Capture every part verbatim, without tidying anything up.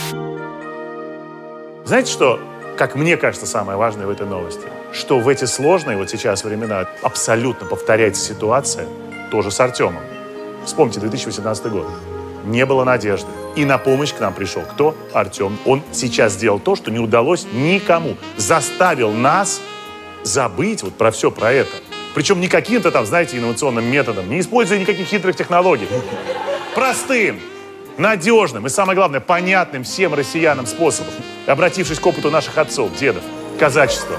Знаете, что, как мне кажется, самое важное в этой новости? Что в эти сложные вот сейчас времена абсолютно повторяется ситуация тоже с Артемом. Вспомните две тысячи восемнадцатый год. Не было надежды. И на помощь к нам пришел кто? Артем. Он сейчас сделал то, что не удалось никому. Заставил нас забыть вот про все про это. Причем не каким-то там, знаете, инновационным методом, не используя никаких хитрых технологий. Простым, надежным и, самое главное, понятным всем россиянам способом. Обратившись к опыту наших отцов, дедов, казачества.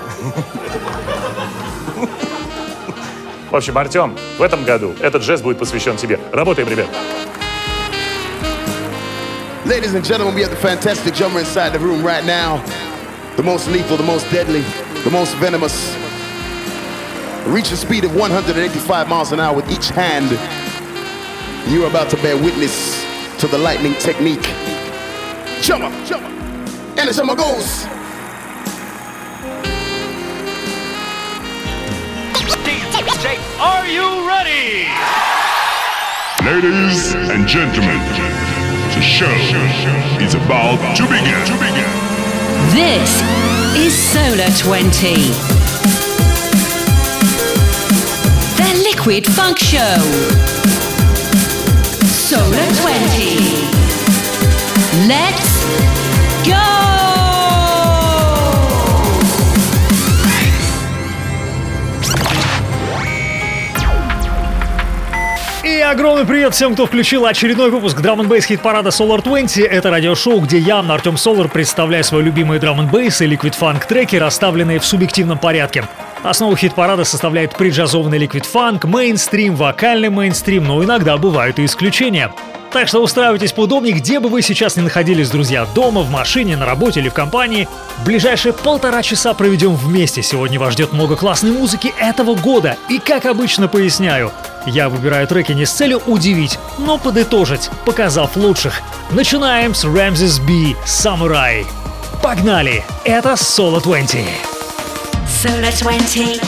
В общем, Артем, в этом году этот жест будет посвящен тебе. Работаем, ребят. Ladies and gentlemen, we have the fantastic drummer inside the room right now. The most lethal, the most deadly, the most venomous. Reach a speed of one hundred eighty-five miles an hour with each hand. You're about to bear witness to the lightning technique. Drummer, drummer, and the drummer goes. D J, are you ready? Ladies and gentlemen, the show is about to begin. To begin. This is Solar twenty. The Liquid Funk Show. Solar twenty. Let's go! И огромный привет всем, кто включил очередной выпуск Drum and Bass хит-парада Solar двадцать. Это радиошоу, где я, Артем Solar, представляю свои любимые Drum and Bass и Liquid Funk треки, расставленные в субъективном порядке. Основу хит-парада составляет преджазованный Liquid Funk, мейнстрим, вокальный мейнстрим, но иногда бывают и исключения. Так что устраивайтесь поудобнее, где бы вы сейчас ни находились, друзья, дома, в машине, на работе или в компании. В ближайшие полтора часа проведем вместе. Сегодня вас ждет много классной музыки этого года. И, как обычно, поясняю, я выбираю треки не с целью удивить, но подытожить, показав лучших. Начинаем с Ramses B, Samurai. Погнали! Это Solar двадцать. Solar двадцать.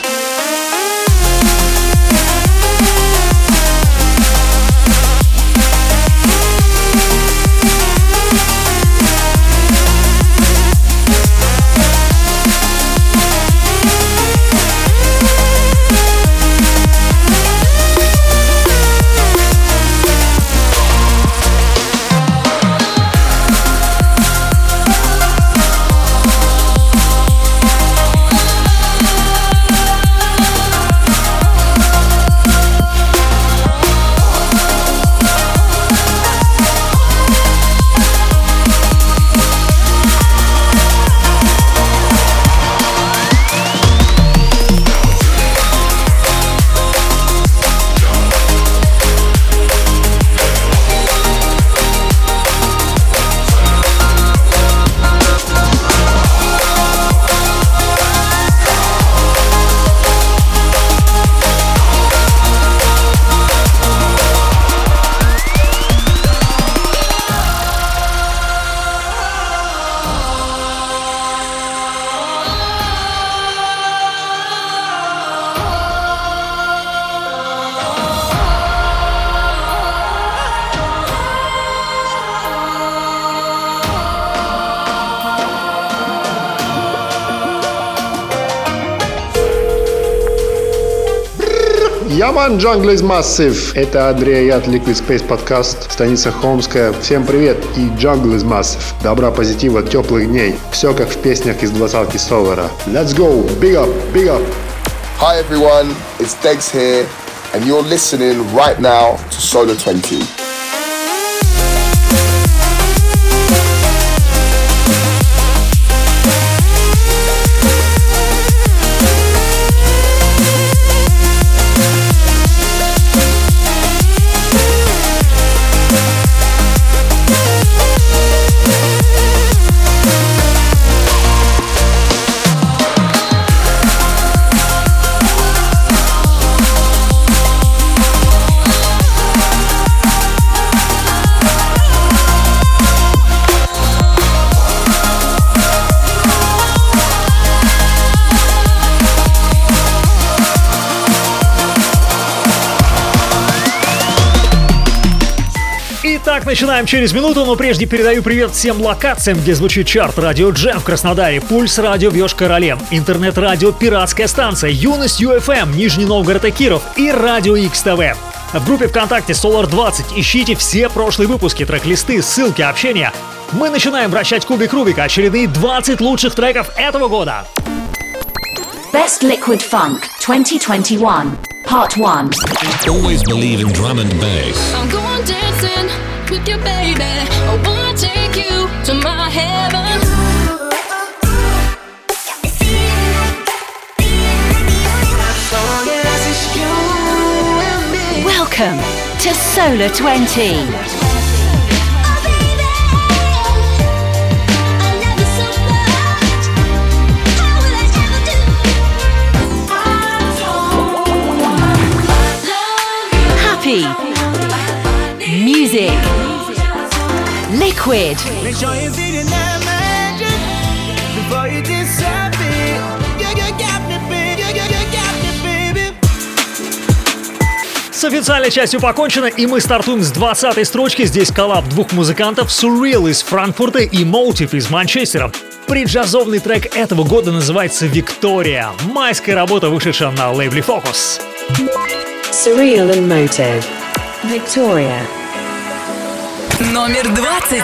Яман, Jungle is Massive. Это Андрей Аяд, Liquid Space подкаст, станица Холмская. Всем привет и Jungle is Massive. Добра, позитива, теплых дней. Все как в песнях из двадцатки Солара. Let's go, big up, big up. Hi everyone, it's Degs here, and you're listening right now to Solar twenty. Итак, начинаем через минуту, но прежде передаю привет всем локациям, где звучит чарт. Радио Джем в Краснодаре, Пульс Радио в Йошкар-Оле, интернет-радио Пиратская станция, Юность ю эф эм, Нижний Новгород и Киров и Радио Икс ТВ. В группе ВКонтакте Solar двадцать ищите все прошлые выпуски, трек-листы, ссылки, общения. Мы начинаем вращать кубик Рубика, очередные двадцать лучших треков этого года. Best Liquid Funk twenty twenty-one, Part one. Always believe in drum and bass. I'm going dancing with you, baby. I wanna take you to my heaven. Welcome to Solar twenty. Happy music, liquid, make sure you see the magic before you disappear. You, you got me, baby. You, you, you got me, baby. С официальной частью покончено, и мы стартуем с двадцатой строчки. Здесь коллаб двух музыкантов: Surreal из Франкфурта и Motive из Манчестера. Преджазовный трек этого года называется «Виктория». Майская работа, вышедшая на лейбле Focus. Surreal and Motive. Victoria. Номер двадцать.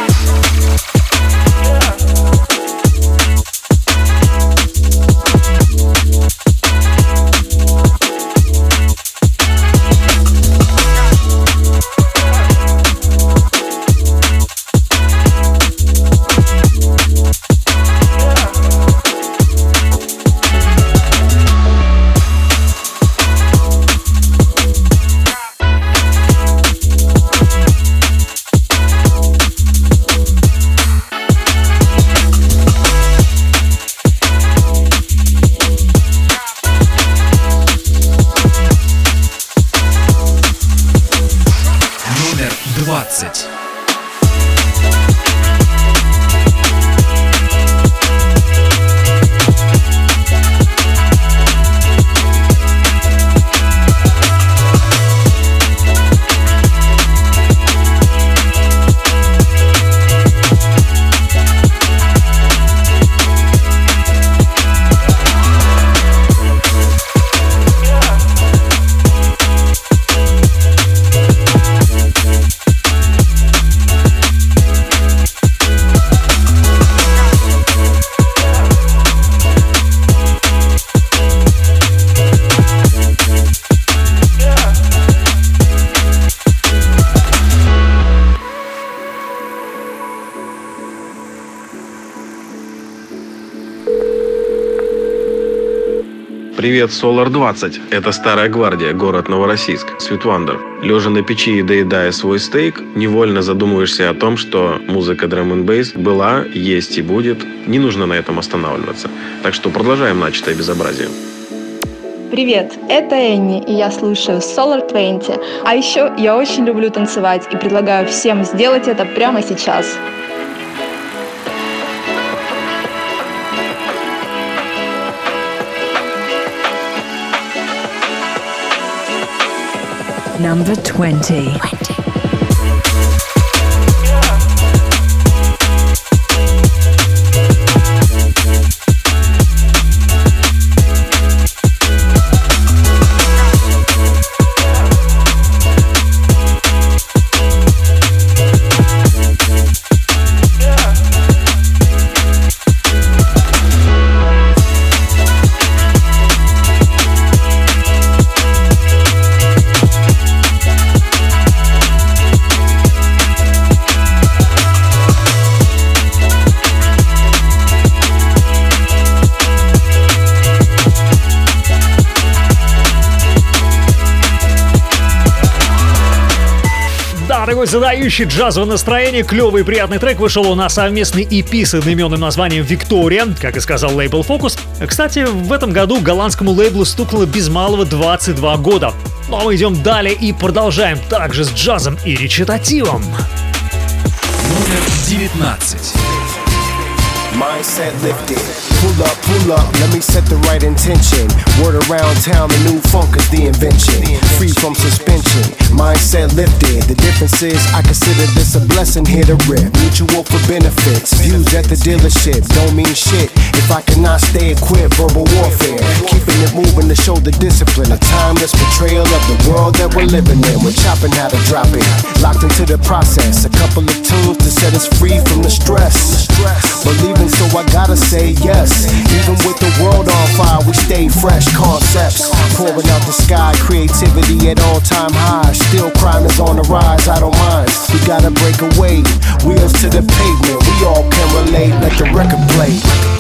двадцать. Привет, Solar двадцать. Это Старая Гвардия, город Новороссийск, Sweet Wonder. Лежа на печи и доедая свой стейк, невольно задумываешься о том, что музыка Drum and Bass была, есть и будет. Не нужно на этом останавливаться. Так что продолжаем начатое безобразие. Привет, это Энни, и я слушаю Solar двадцать. А еще я очень люблю танцевать и предлагаю всем сделать это прямо сейчас. Number twenty. Такой задающий джазовое настроение, клевый и приятный трек вышел на совместный и пи с одноименным названием «Виктория», как и сказал лейбл Focus. Кстати, в этом году голландскому лейблу стукнуло без малого двадцать два года. Ну а мы идем далее и продолжаем также с джазом и речитативом. Номер девятнадцать. mindset lifted. Pull up, pull up, let me set the right intention. Word around town, the new funk is the invention. Free from suspension, mindset lifted. The difference is I consider this a blessing here to rip. Mutual for benefits, views at the dealership don't mean shit if I cannot stay equipped. Verbal warfare, keeping it moving to show the discipline. A timeless portrayal of the world that we're living in. We're chopping how to drop it, locked into the process. A couple of tunes to set us free from the stress. Believing, so I gotta say yes. Even with the world on fire, we stay fresh. Concepts pouring out the sky, creativity at all-time highs. Still crime is on the rise, I don't mind. We gotta break away, wheels to the pavement. We all can relate, let the record play.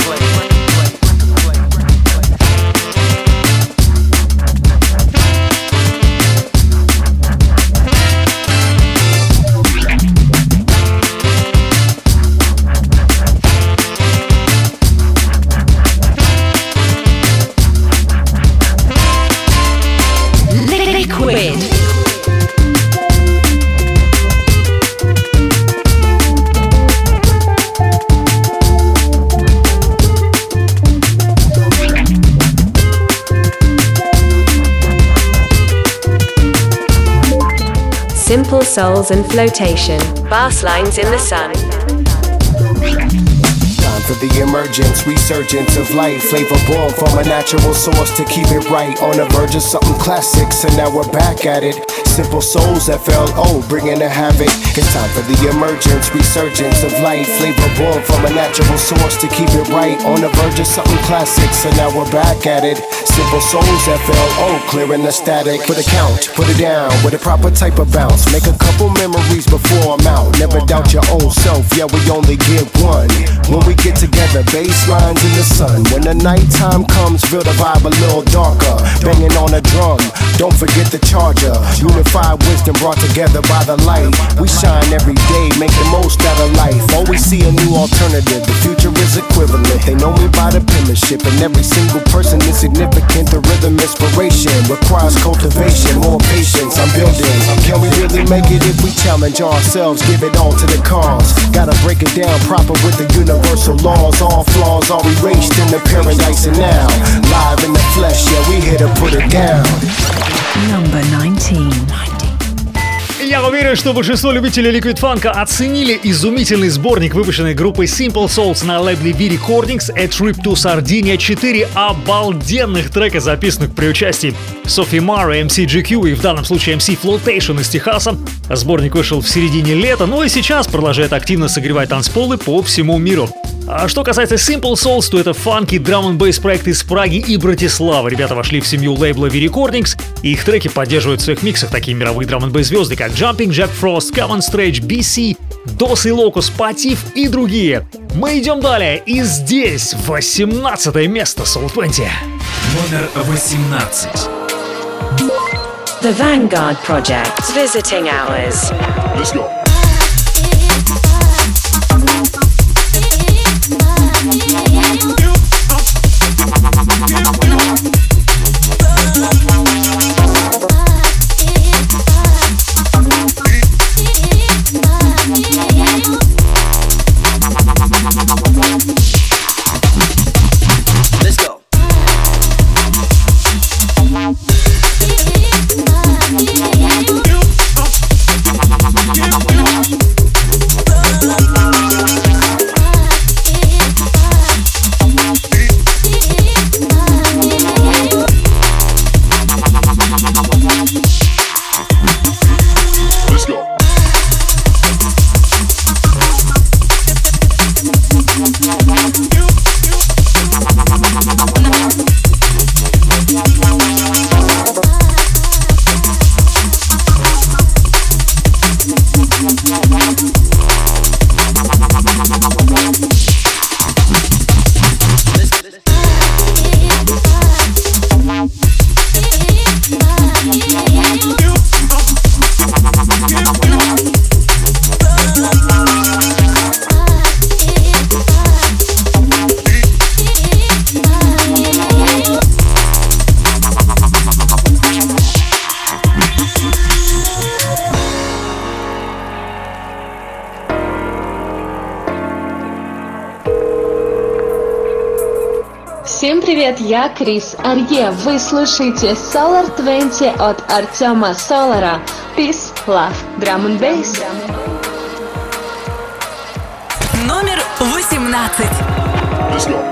Liquid. Simple Souls and Flotation. Bass lines in the sun. For the emergence, resurgence of life, flavor born from a natural source to keep it right. On the verge of something classic, so now we're back at it. Simple Souls, F L O, bringing the havoc. It's time for the emergence, resurgence of life, flavor born from a natural source to keep it right. On the verge of something classic, so now we're back at it. Simple Souls, F L O, clearing the static. For the count, put it down with a proper type of bounce. Make a couple memories before I'm out. Never doubt your old self, yeah, we only get one. When we get together, bass lines in the sun. When the nighttime comes, feel the vibe a little darker. Banging on a drum, don't forget the charger. Unified wisdom brought together by the light. We shine every day, make the most out of life. Always see a new alternative, the future is equivalent. They know me by the penmanship, and every single person is significant. The rhythm inspiration requires cultivation, more patience. I'm building. Can we really make it if we challenge ourselves? Give it all to the cause. Gotta break it down proper with the universal laws. All flaws are erased in the paradise and now live in the flesh, yeah, we here to put it down. Number nineteen. Я уверен, что большинство любителей Liquid Funk оценили изумительный сборник, выпущенный группой Simple Souls на лейбле V Recordings A Trip to Sardinia. Четыре обалденных трека, записанных при участии Софи Мара, эм си джи кью и в данном случае эм си Flotation из Техаса. Сборник вышел в середине лета, но и сейчас продолжает активно согревать танцполы по всему миру. А что касается Simple Souls, то это фанки, драм-н-бейс проект из Праги и Братиславы. Ребята вошли в семью лейбла V Recordings, и их треки поддерживают в своих миксах такие мировые драм-н-бейс звезды, как Jumping Jack Frost, Common Stretch, би си, Dos и Locus, Patif и другие. Мы идем далее, и здесь восемнадцатое место Soul двадцать. Номер восемнадцать. The Vanguard Project. Visiting Hours. Let's go. Let's go. Всем привет, я Крис Арье. Вы слушаете Solar двадцать от Артема Солара. Peace, love, drum and bass. Номер восемнадцать. Let's go.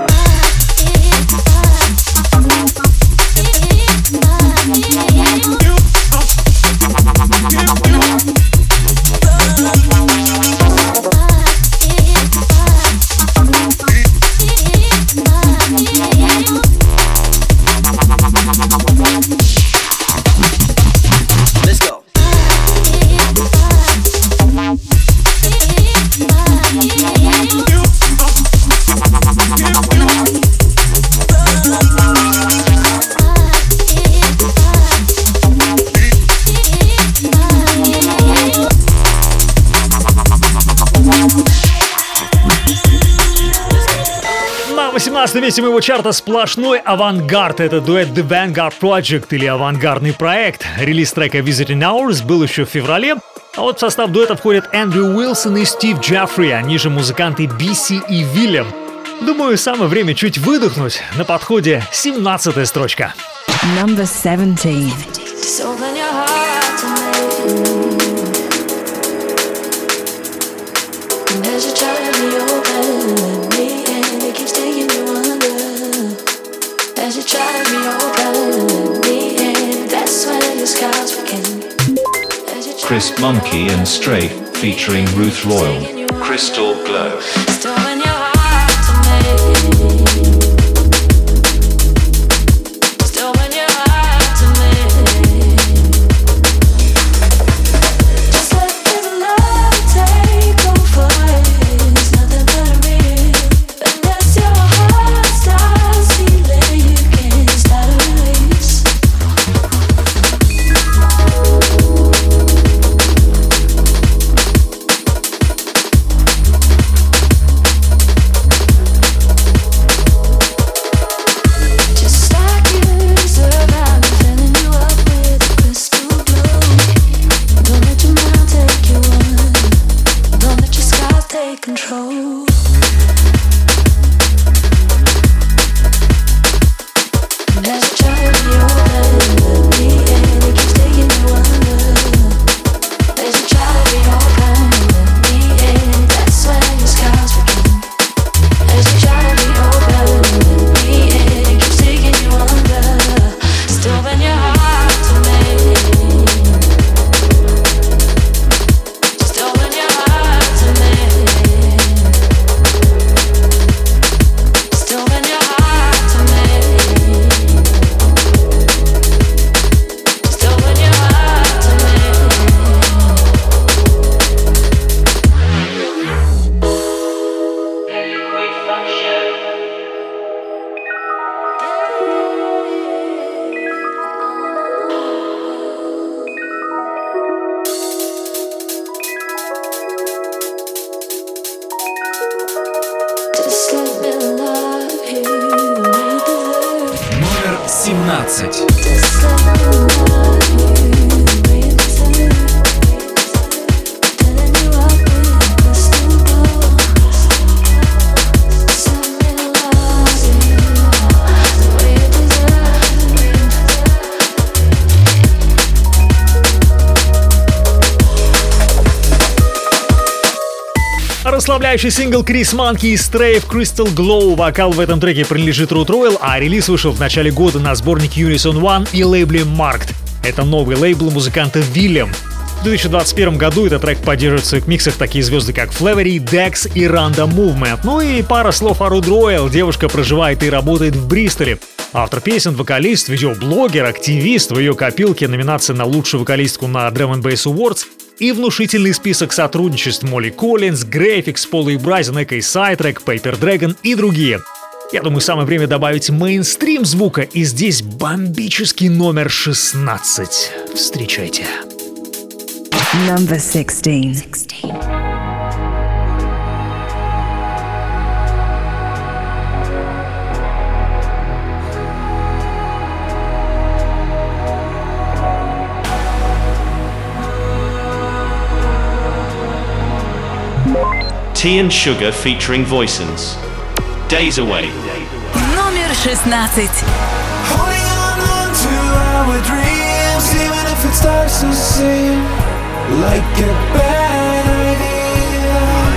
На восемнадцатом месте моего чарта сплошной авангард. Это дуэт The Vanguard Project или авангардный проект. Релиз трека Visiting Hours был еще в феврале. А вот в состав дуэта входят Эндрю Уилсон и Стив Джеффри, они же музыканты Би Си и Вильям. Думаю, самое время чуть выдохнуть. На подходе семнадцатая строчка. Number seventeen. As you try to reopen me, and that's when your scars begin. Chris Monkey and Strafe featuring Ruth Royal. Crystal Glow. семнадцать. Расслабляющий сингл Chris Monkey и Strafe Crystal Glow. Вокал в этом треке принадлежит Ruth Royal, а релиз вышел в начале года на сборнике Unison One и лейбле Marked. Это новый лейбл музыканта William. В две тысячи двадцать первом году этот трек поддерживает в своих миксах такие звезды, как Flavery, Dex и Random Movement. Ну и пара слов о Ruth Royal. Девушка проживает и работает в Бристоле. Автор песен, вокалист, видеоблогер, активист. В ее копилке номинация на лучшую вокалистку на Drum and Bass Awards и внушительный список сотрудничеств: Молли Коллинз, Graphics, Поло и Брайзен, Эко и Сайтрек, Paper Dragon и другие. Я думаю, самое время добавить мейнстрим звука, и здесь бомбический номер шестнадцать. Встречайте. Number sixteen. Tea and Sugar featuring Voicens. Days Away. Номер шестнадцать. Our dreams, even if it starts to seem like a bad idea.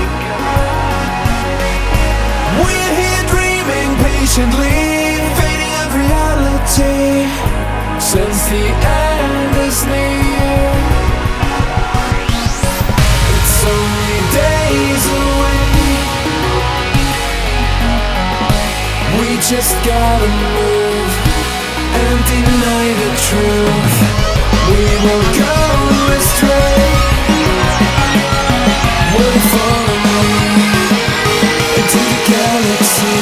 We're here dreaming patiently, fading of reality, since the end is near. It's only days away. We just gotta move and deny the truth. We won't go astray. We'll follow into the galaxy.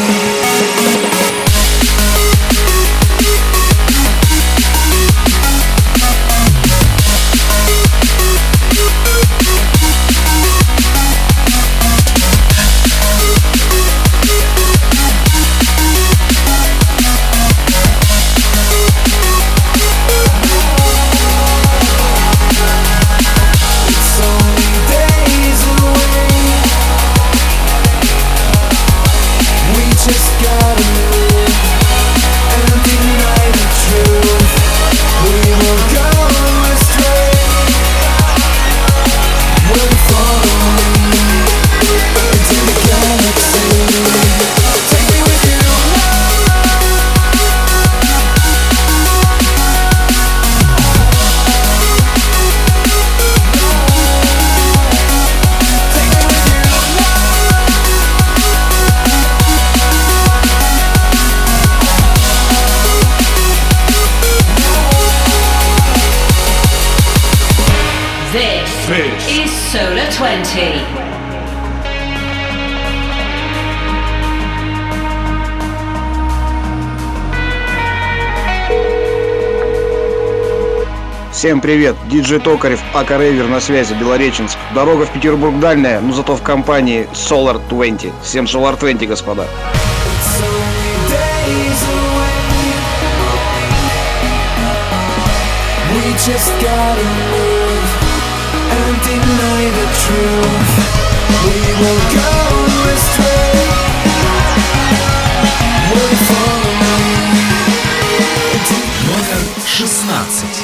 Solar twenty. Всем привет, диджей Токарев, ака Рейвер на связи, Белореченск. Дорога в Петербург дальняя, но зато в компании Solar двадцать. Всем Solar двадцать, господа. Just gotta move and deny the truth. We will go astray. We'll follow Номер шестнадцать.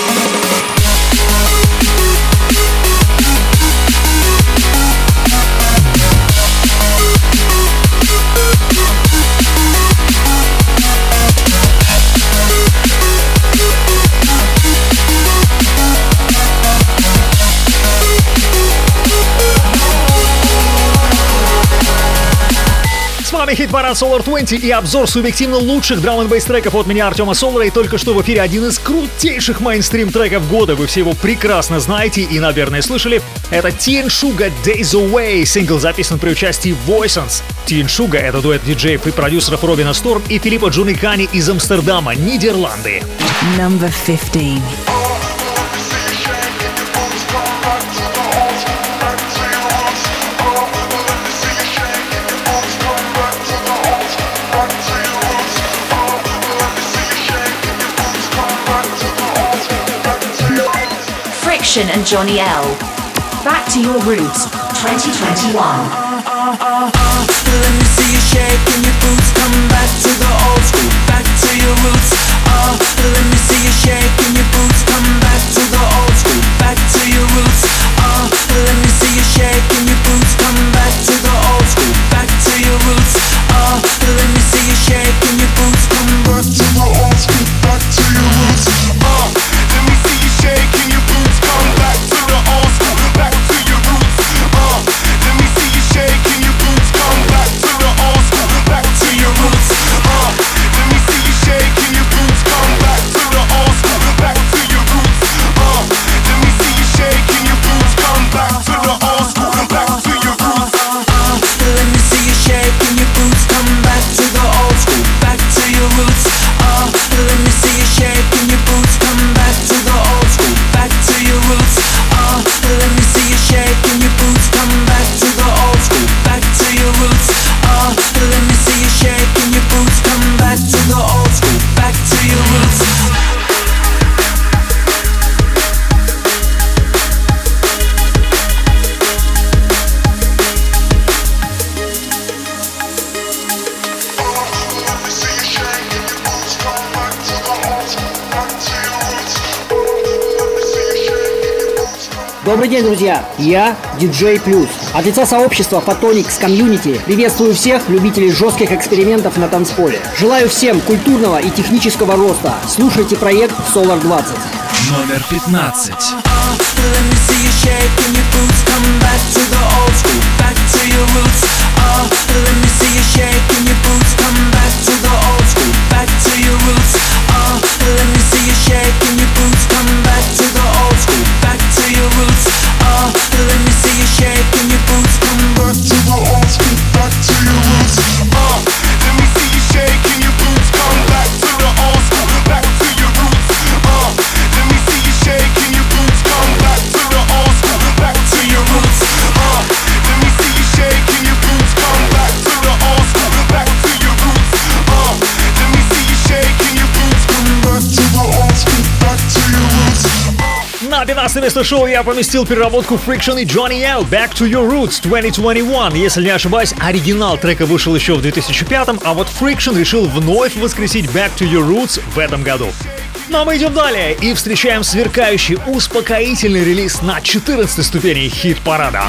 С вами хит-парад Solar двадцать и обзор субъективно лучших драм-н-бейс треков от меня, Артема Солара. И только что в эфире один из крутейших мейнстрим треков года. Вы все его прекрасно знаете и, наверное, слышали. Это Ти энд Sugar Days Away. Сингл записан при участии Voisance. Ти энд Sugar — это дуэт диджеев и продюсеров Робина Сторм и Филиппа Джуникани из Амстердама, Нидерланды. Number fifteen. And Johnny L. Back to Your Roots, twenty twenty-one. Uh, uh, uh, let me see you shaking your boots. Come back to the old school, back to your roots. Uh, let me see you shaking your boots. Come back to the old school, back to your roots. Uh, let me see you shaking your boots. Come back to the old school, back to your roots. Uh, let me see you shaking your boots. Come back to the old school, back to your roots. Uh, let me see you shaking your boots. Come back to the old school, back to your roots. Uh, let me see you shaking your boots. Come back to the old school, back to your roots. Uh, let me see you shaking your boots. Come back to Добрый день, друзья! Я диджей Плюс. От лица сообщества Photonics Community приветствую всех любителей жестких экспериментов на танцполе. Желаю всем культурного и технического роста. Слушайте проект Solar двадцать. Номер пятнадцать. На пятнадцатое место шоу я поместил переработку Friction и Johnny L Back to Your Roots две тысячи двадцать один. Если не ошибаюсь, оригинал трека вышел еще в две тысячи пятом, а вот Friction решил вновь воскресить Back to Your Roots в этом году. Ну а мы идем далее и встречаем сверкающий, успокоительный релиз на четырнадцатой ступени хит-парада.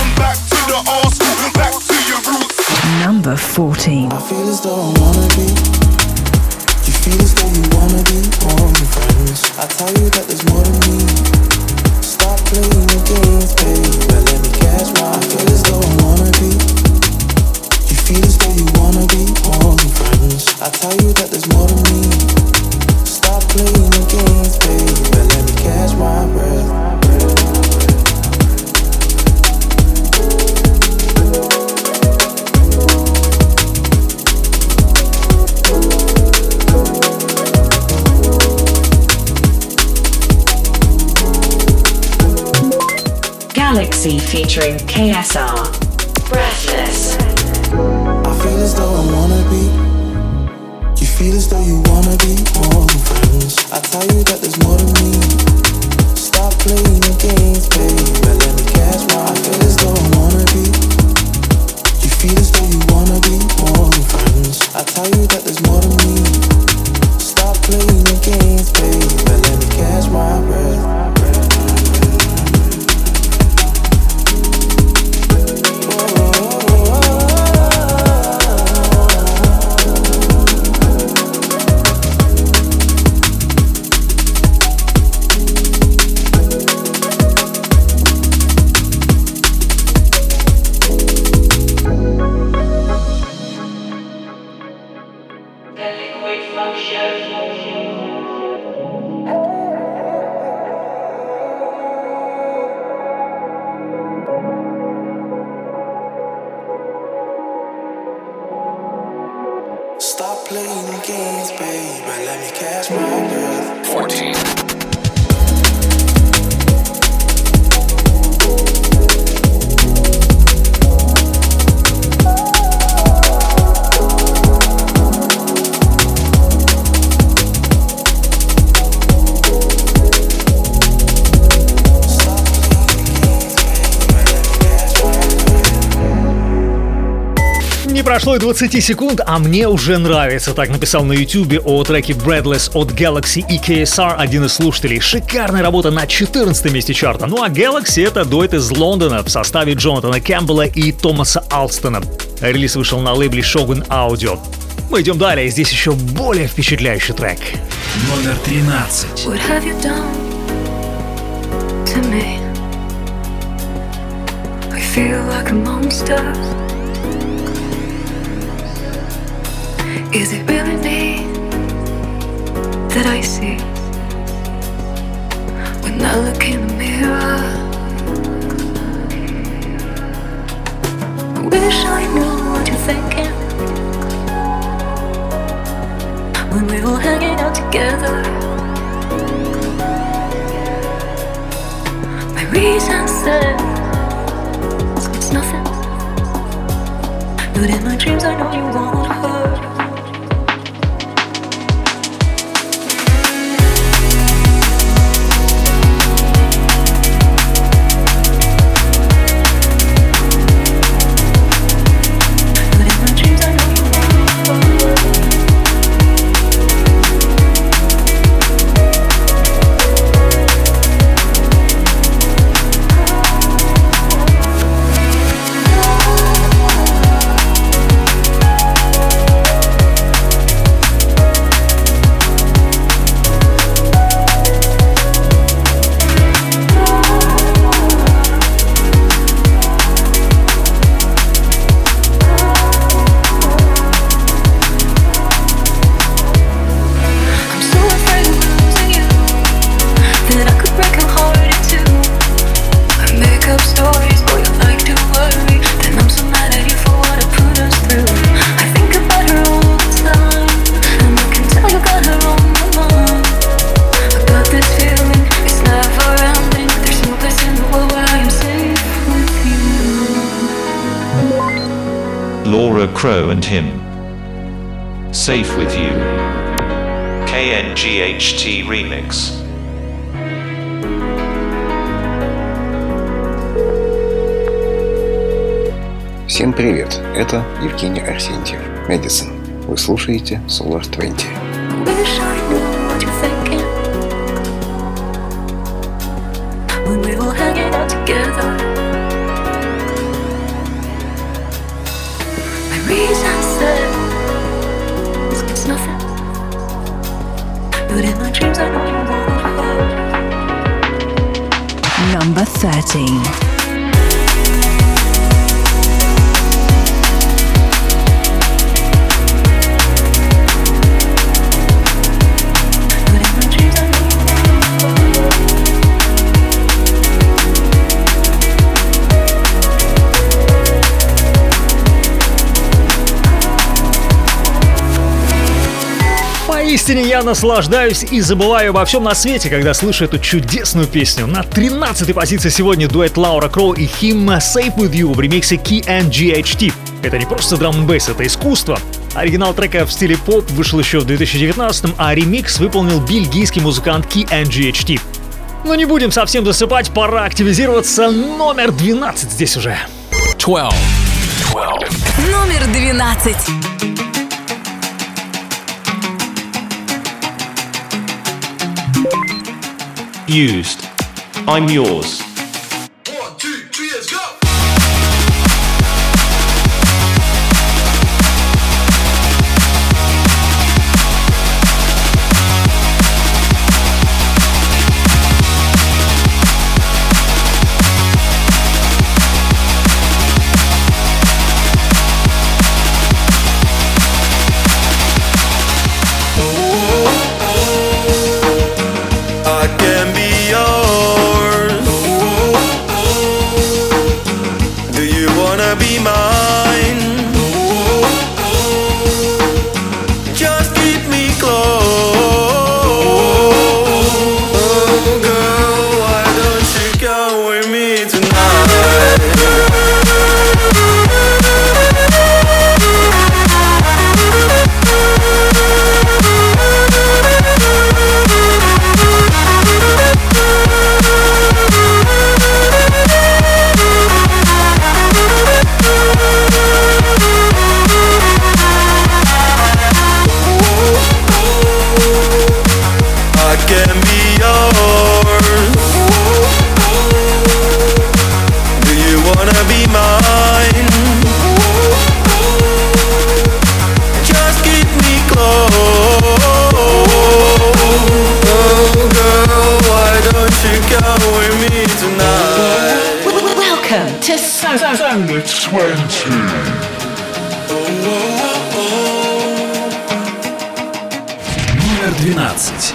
Number fourteen. Feel as though you wanna be more than friends. I tell you that there's more to me. Stop playing the games, baby. Let me catch my. I feel as though I wanna be. You feel as though you wanna be more than friends. I tell you that there's more to me. Stop playing the games, baby. Let me catch my breath. Galaxy featuring K S R. Breathless. I feel as though I wanna be. You feel as though you wanna be more than friends. I tell you that there's more to me. Stop playing the games, baby. Let me catch my. I feel as though I wanna be. You feel as though you wanna be more than friends. I tell you that there's more to me. Stop playing the games, baby. Let me catch my breath. Stop playing the games, baby. Let me catch my breath. fourteen. Не прошло и двадцати секунд, а мне уже нравится. Так написал на ютубе о треке Breathless от Galaxy и K S R один из слушателей. Шикарная работа на четырнадцатом месте чарта. Ну а Galaxy — это дуэт из Лондона в составе Джонатана Кэмпбелла и Томаса Алстона. Релиз вышел на лейбле Shogun Audio. Мы идем далее, здесь еще более впечатляющий трек. Номер тринадцать. What have you done to me? I feel like a monster. Is it really me that I see when I look in the mirror? I wish I knew what you're thinking when we're all hanging out together. My reason says it's nothing, but in my dreams I know you won't hurt. Laura Crow and him. Safe with You. K N G H T Remix. Всем привет, это Евгений Арсентьев, Мэдисон. Вы слушаете Solar двадцать. When we were hanging out together, my reason said it's nothing, but in my dreams I know you want. Number thirteen. Поистине я наслаждаюсь и забываю обо всем на свете, когда слышу эту чудесную песню. На тринадцатой позиции сегодня дуэт Лаура Кроу и Him Safe With You в ремиксе K N G H T. Это не просто драм-н-бейс, это искусство. Оригинал трека в стиле поп вышел еще в две тысячи девятнадцатом, а ремикс выполнил бельгийский музыкант K N G H T. Но не будем совсем засыпать, пора активизироваться. Номер двенадцать здесь уже. двенадцать. Номер двенадцать. Used. I'm Yours. Номер двенадцать.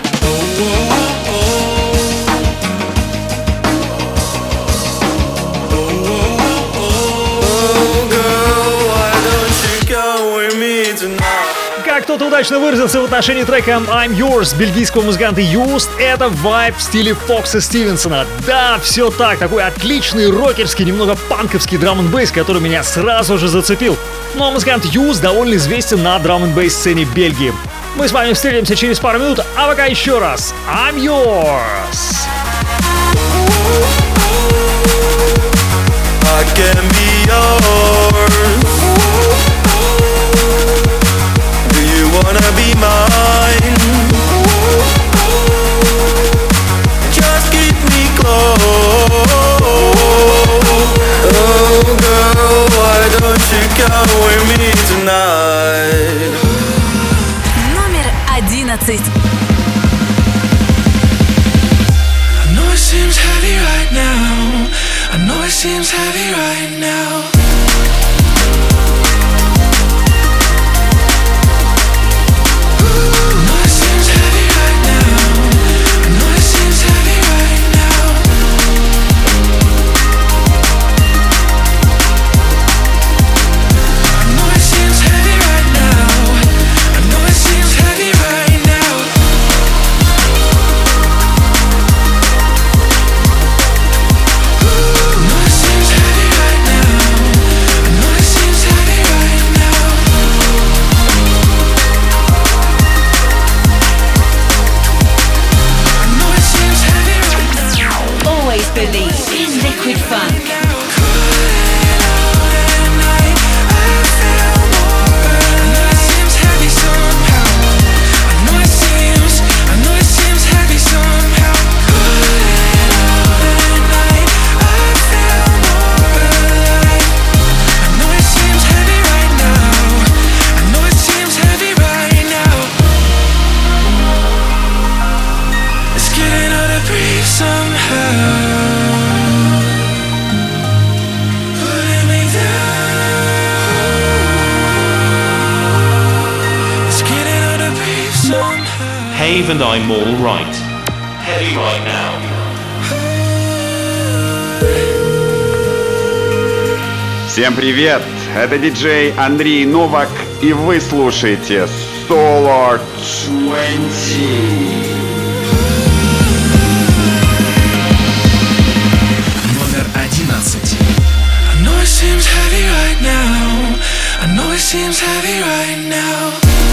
Как кто-то удачно выразился в отношении трека I'm Yours бельгийского музыканта Used, это вайб в стиле Фокса Стивенсона. Да, все так, такой отличный рокерский, немного панковский драм-н-бейс, который меня сразу же зацепил. Ну а музыкант Used довольно известен на драм-н-бейс сцене Бельгии. Мы с вами встретимся через пару минут, а пока еще раз I'm Yours. I can be yours. Do you wanna be mine? Just keep me close. Oh girl, why don't you come with me tonight? Номер одиннадцать. I know it seems heavy right now. I know it seems heavy right now. Cave and I'm all right. Heavy right now. Всем привет! Это диджей Андрей Новак, и вы слушаете Solar двадцать. Номер одиннадцать. I know it seems heavy right now. I know it seems heavy right now.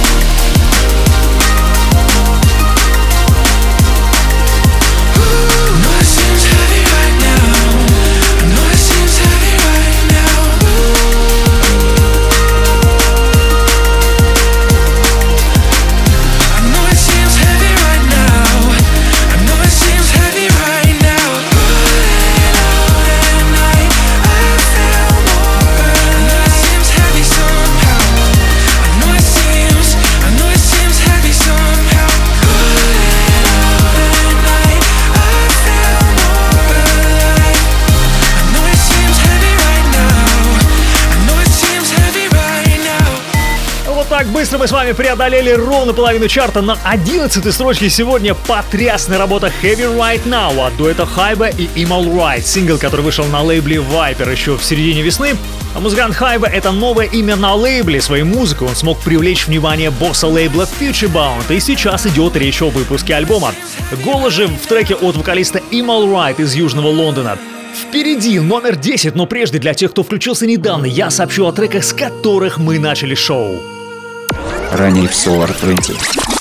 Так быстро мы с вами преодолели ровно половину чарта. На одиннадцатой строчке сегодня потрясная работа Heavy Right Now от дуэта Хайба и Imal Right, сингл, который вышел на лейбле Viper еще в середине весны. А музыкант Хайба — это новое имя на лейбле. Своей музыкой он смог привлечь внимание босса лейбла Futurebound, и сейчас идет речь о выпуске альбома. Голос же в треке от вокалиста Imal Right из Южного Лондона. Впереди номер десять, но прежде для тех, кто включился недавно, я сообщу о треках, с которых мы начали шоу. Ранее в Solar двадцать.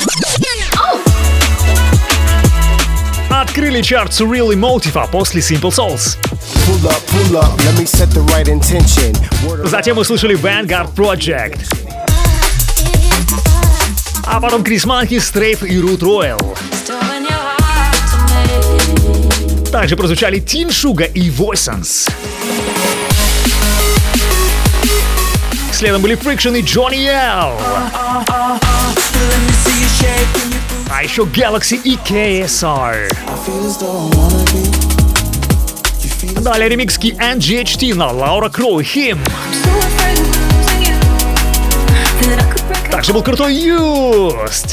Открыли чарт Surreal Emotive, а после Simple Souls. Pull up, pull up, let me set the right intention. Затем мы слышали Vanguard Project. А потом Крис Манки, Стрейф и Root Royal. Также прозвучали Teen Sugar и Voices. Следом были Friction и Johnny L. А еще Galaxy и кей эс ар. Далее ремикски эн джи эйч ти на Лаура Кроу и Him. Также был крутой Used.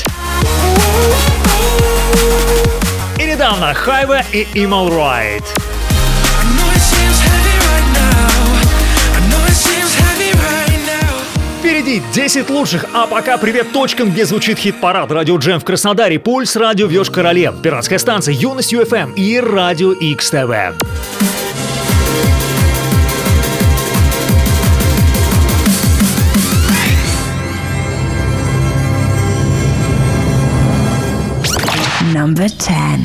И недавно Хайва и Imal Right. Впереди десять лучших, а пока привет точкам, где звучит хит-парад. Радио Джем в Краснодаре, Пульс, Радио Вёж-Короле, Пиратская станция, Юность ю эф эм и Радио X ти ви. Number ten.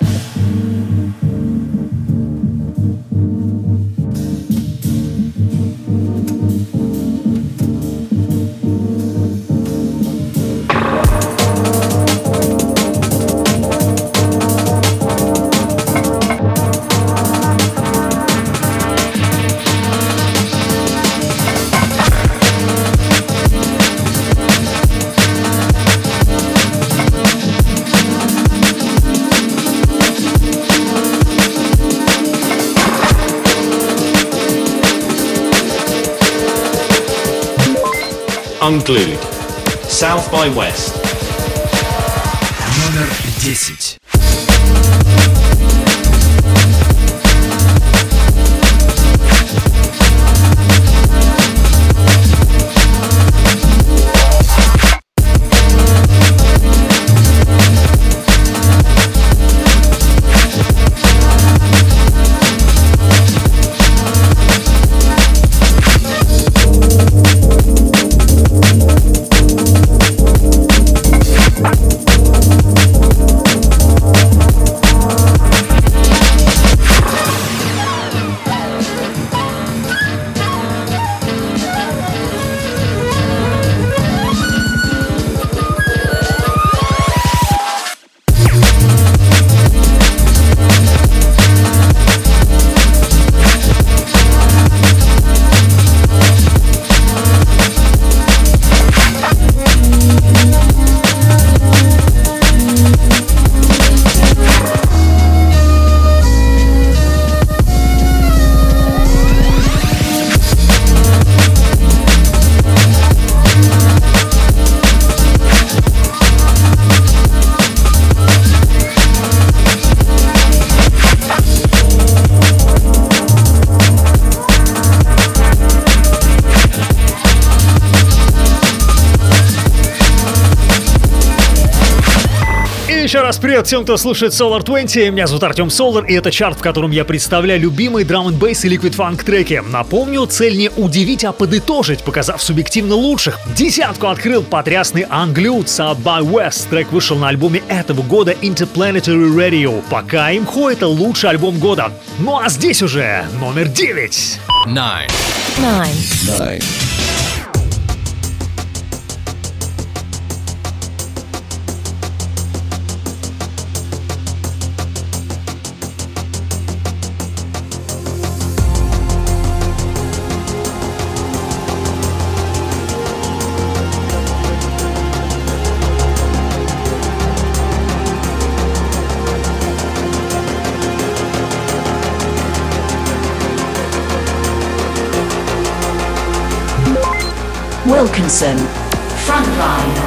Unglued. South by West. Номер десять. Еще раз привет всем, кто слушает Solar двадцать. Меня зовут Артем Solar, и это чарт, в котором я представляю любимые драм энд бейс и ликвид фанк треки. Напомню, цель не удивить, а подытожить, показав субъективно лучших. Десятку открыл потрясный Unglued South by West. Трек вышел на альбоме этого года Interplanetary Radio. Пока имхо это лучший альбом года. Ну а здесь уже номер девять. Nine. Nine. Nine. Wilkinson, Frontline.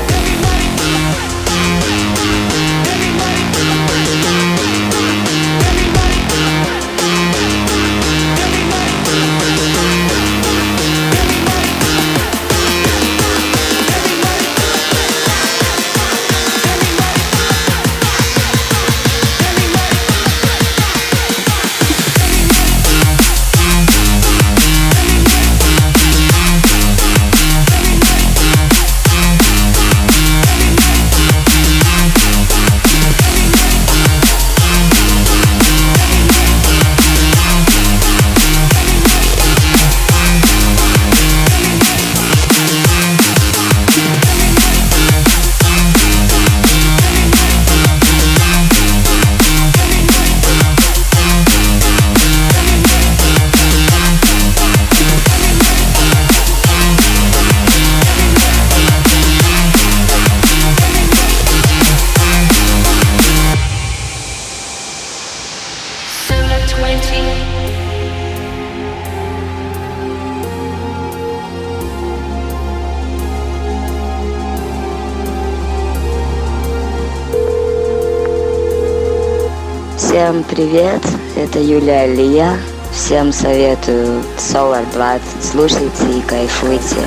Всем привет, это Юлия Алия. Всем советую Solar двадцать. Слушайте и кайфуйте.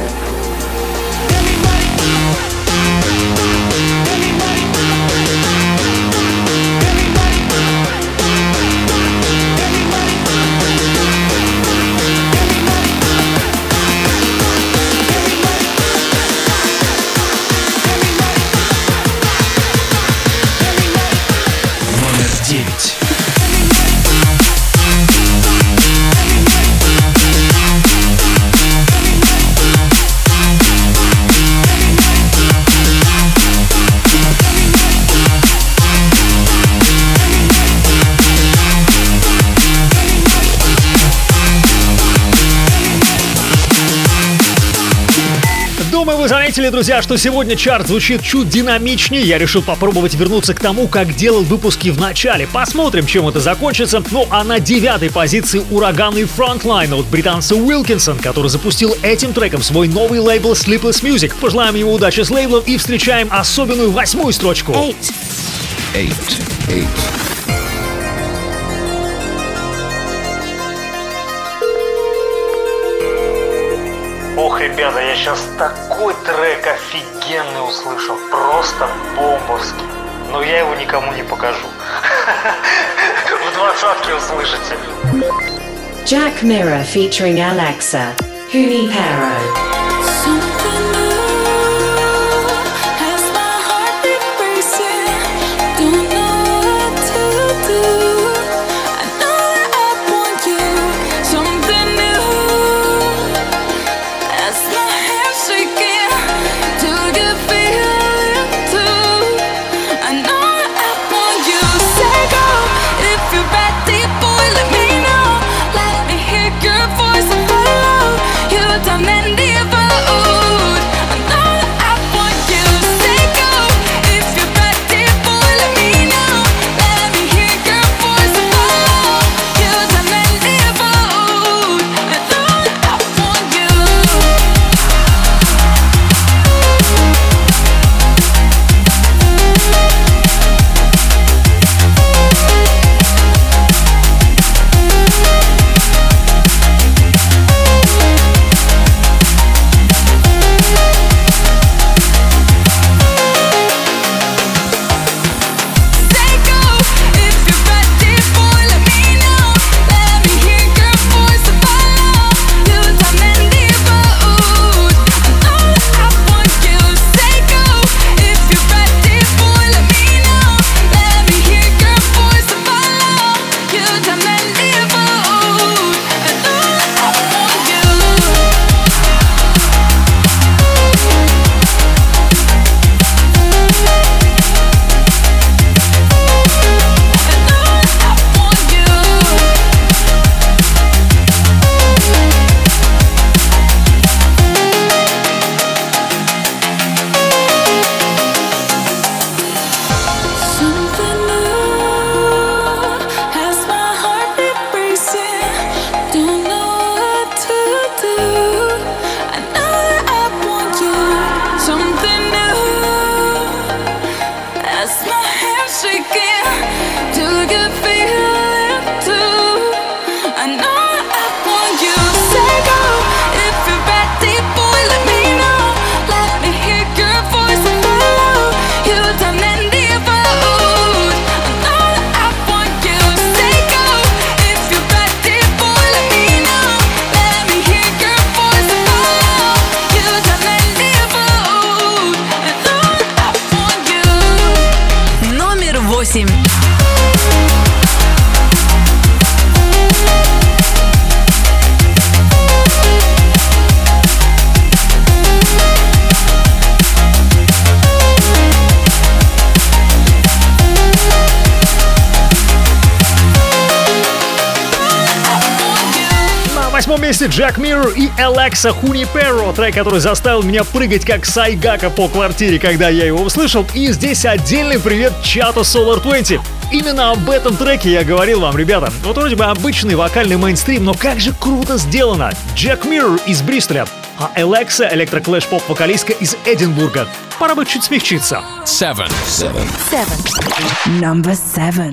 Номер девять. Думаю, вы заметили, друзья, что сегодня чарт звучит чуть динамичнее. Я решил попробовать вернуться к тому, как делал выпуски в начале. Посмотрим, чем это закончится. Ну а на девятой позиции ураганный Frontline от британца Wilkinson, который запустил этим треком свой новый лейбл Sleepless Music. Пожелаем ему удачи с лейблом и встречаем особенную восьмую строчку. Eight. Eight. Eight. Ох, ребята, я сейчас такой трек офигенный услышал. Просто бомбовский. Но я его никому не покажу. В двадцатке услышите. Jack Mirror featuring Alexa, Junipero. Your voice and follow. You done many of us. восемь. На восьмом месте Джек Миррор и Алекса Хуниперо, трек, который заставил меня прыгать как Сайгака по квартире, когда я его услышал. И здесь отдельный привет чату Solar двадцать. Именно об этом треке я говорил вам, ребята. Вот вроде бы обычный вокальный мейнстрим, но как же круто сделано. Джек Миррор из Бристоля, а Алекса — электроклэш-поп-вокалистка из Эдинбурга. Пора бы чуть смягчиться. Seven. Seven. Seven. Number seven.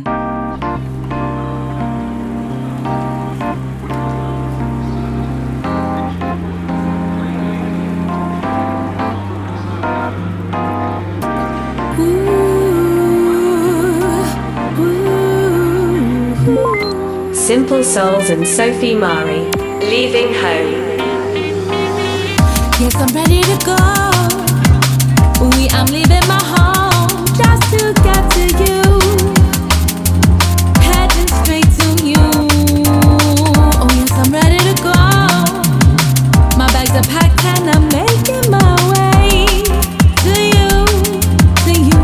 Simple Souls and Sophie Mari, Leaving Home. Yes, I'm ready to go. We, I'm leaving my home just to get to you. Heading straight to you. Oh yes, I'm ready to go. My bags are packed and I'm making my way to you, to you.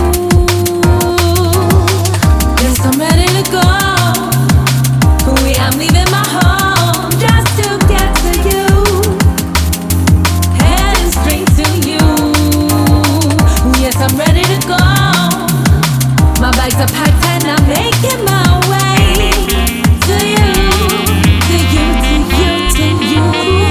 Yes, I'm ready to go. We, I'm leaving my home just to get to you. Heading straight to you. Yes, I'm ready to go. My bags are packed and I'm making my way to you, to you, to you, to you.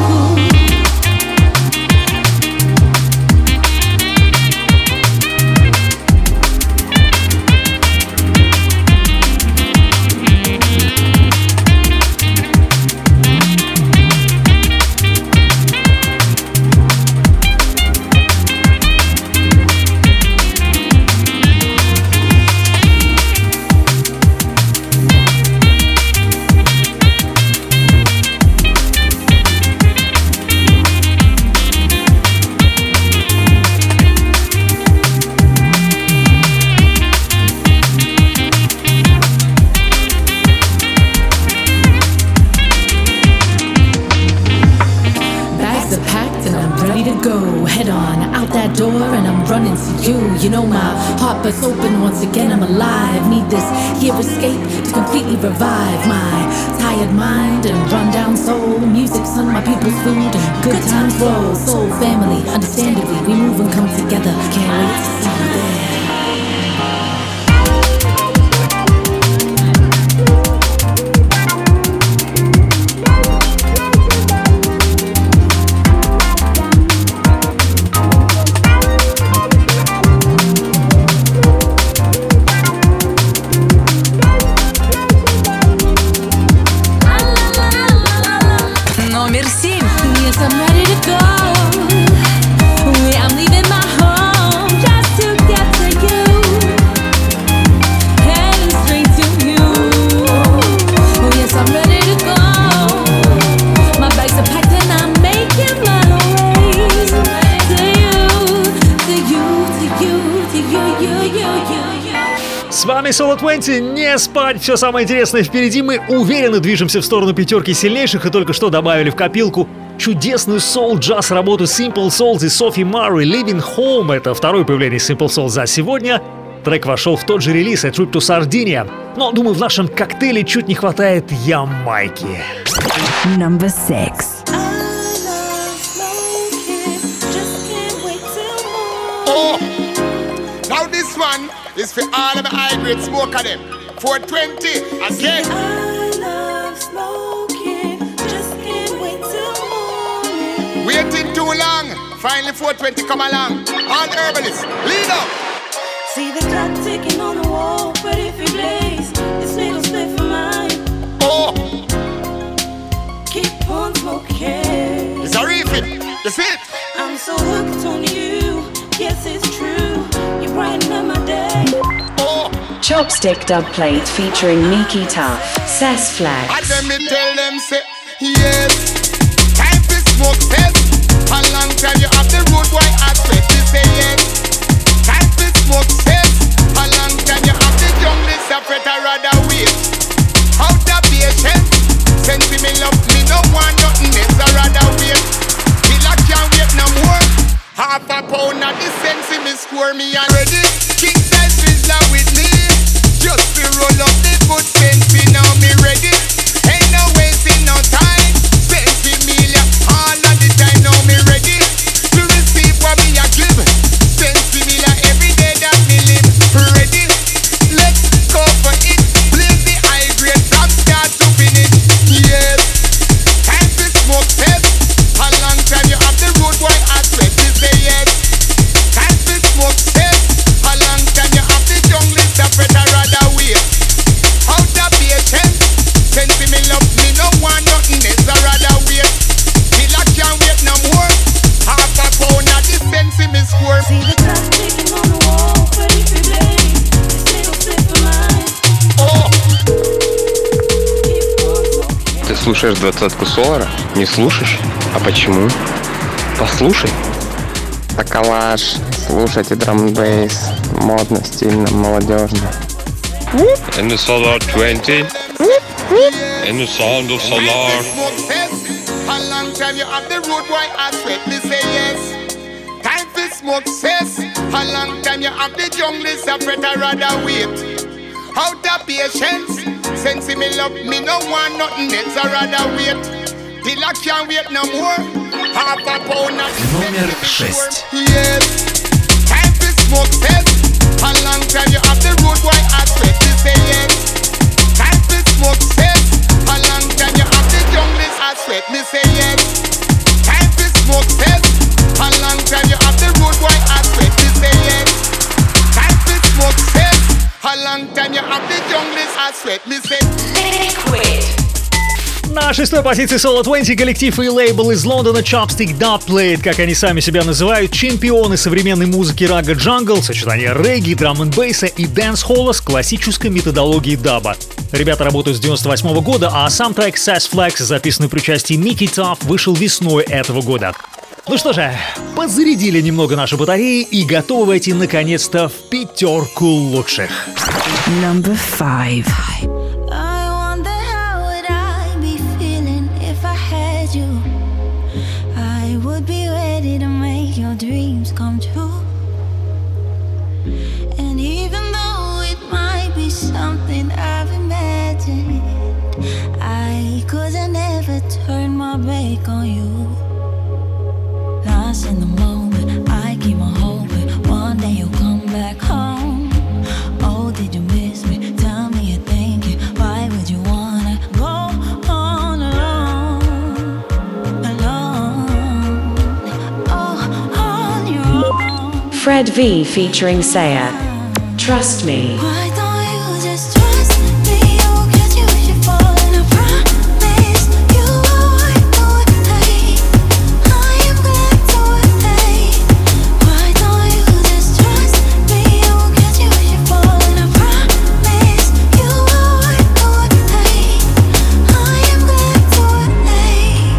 You know my heart bursts open once again, I'm alive. Need this here escape to completely revive my tired mind and run down soul. Music's on my people's food and good times roll. Soul family, understandably, we move and come together. Can't wait to see you there. С вами Solar двадцать, не спать, все самое интересное впереди. Мы уверенно движемся в сторону пятерки сильнейших и только что добавили в копилку чудесную соул-джаз работу Simple Souls и Sophie Mari, Living Home. Это второе появление Simple Souls за сегодня. Трек вошел в тот же релиз A Trip to Sardinia. Но, думаю, в нашем коктейле чуть не хватает Ямайки. Number six. Oh, now this one is for all of the high-grade smoker them. four twenty, again. I love smoking, just can't wait till morning. Waiting too long, finally four twenty come along. All the herbalists, lead up. See the clock ticking on the wall, ready for blaze. This little spliff of mine. Oh, keep on smoking. It's a refit, that's it. I'm so hooked on you, yes it's true. You brighten up my day. Oh, Chopstick dub plate featuring Miki Tough, Cess Flags. And then me tell them say, yes, time to smoke cess. A long time you have the road boy aspect, you say yes. Time to smoke cess. A long time you Half a pound of the sense in me score me already. King size Rizla with me. Just to roll up the good sense now me ready. Ain't no wasting no time. Sense me all of the time now me ready. To receive what me a give. Sense me every day that me live. Ready? Let's go for it. Blaze the high grade from start to finish. Yes. Time to smoke test. A long time you have the road boy I sweat to say yes. Time to smoke test. A long time you have the jungle suffer I rather wait. Out of patience. Sense me love me no want nothing else I rather wait. Till I can't wait no more. Half a pound of the sense me score. See the clock ticking on the wall, ready for blaze. This little slip of mine. Oh. Ты слушаешь двадцатку Солара? Не слушаешь? А почему? Послушай. Такалаш. Слушайте драм-н-бейс. Модно, стильно, молодежно. In the Solar twenty. In the sound of Solar. A long time you have the road boy I sweat me say yes. Time for smoke cess. A long time you have the jungle suffer I rather wait. Out of patience. Sense me love me no want nothing else I rather wait. Till I can't wait no more. Half a pound of Номер шесть. yes. Time for smoke cess. A long time you have the road boy I sweat me say yes. Time for smoke cess. A long time you have the jungle I sweat me say yes. Time for smoke cess. A long time you have the road boy I sweat me say yes. Time for smoke cess. A long time you have the jungle I sweat me say liquid. На шестой позиции Solar двадцать коллектив и лейбл из Лондона Chopstick Dubplate, как они сами себя называют, чемпионы современной музыки рага джангл, сочетание регги, драм-н-бейса и дэнс-холла с классической методологией даба. Ребята работают с девяносто восьмого года, а сам трек Sass Flex, записанный при участии Mickey Tuff, вышел весной этого года. Ну что же, подзарядили немного наши батареи и готовы войти наконец-то в пятерку лучших. Number five. Dreams come true, and even though it might be something I've imagined, I couldn't never turn my back on you. Lost in the moment, I keep on hoping one day you'll come back home. Oh, did you miss me? Tell me you're thinking, why would you wanna go on alone, alone? Oh, on your own. Fred V featuring Saya. Trust me. Why don't you just trust me? You'll get you should fall, and I promise you won't do it. Hey, I am glad to it. Why don't you just trust me? You'll get you should fall, and I promise you won't do it. Hey, I am glad to it.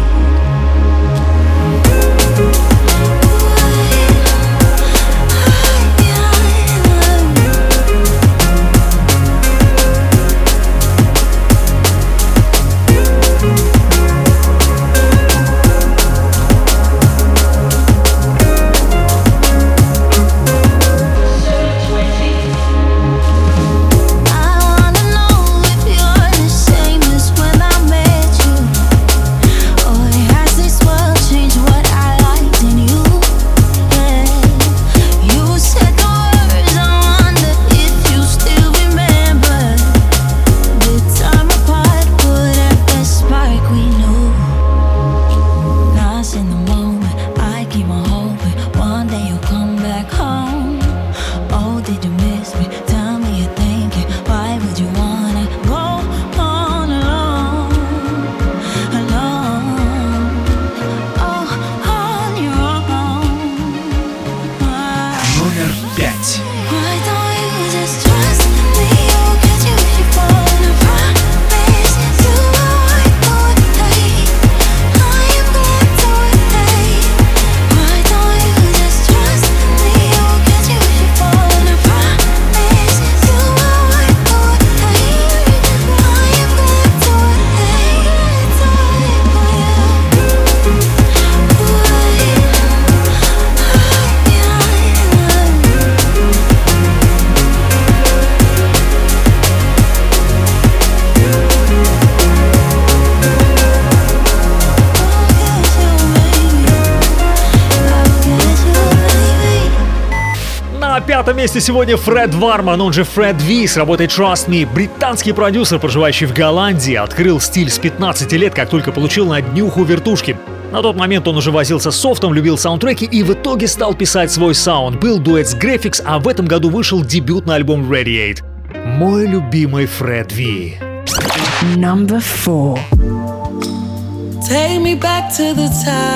пятом месте сегодня Фред Варман, он же Фред Ви, с работой Trust Me. Британский продюсер, проживающий в Голландии, открыл стиль с пятнадцати лет, как только получил на днюху вертушки. На тот момент он уже возился с софтом, любил саундтреки и в итоге стал писать свой саунд. Был дуэт с Graphics, а в этом году вышел дебютный альбом Radiate. Мой любимый Фред Ви. Number four. Take me back to the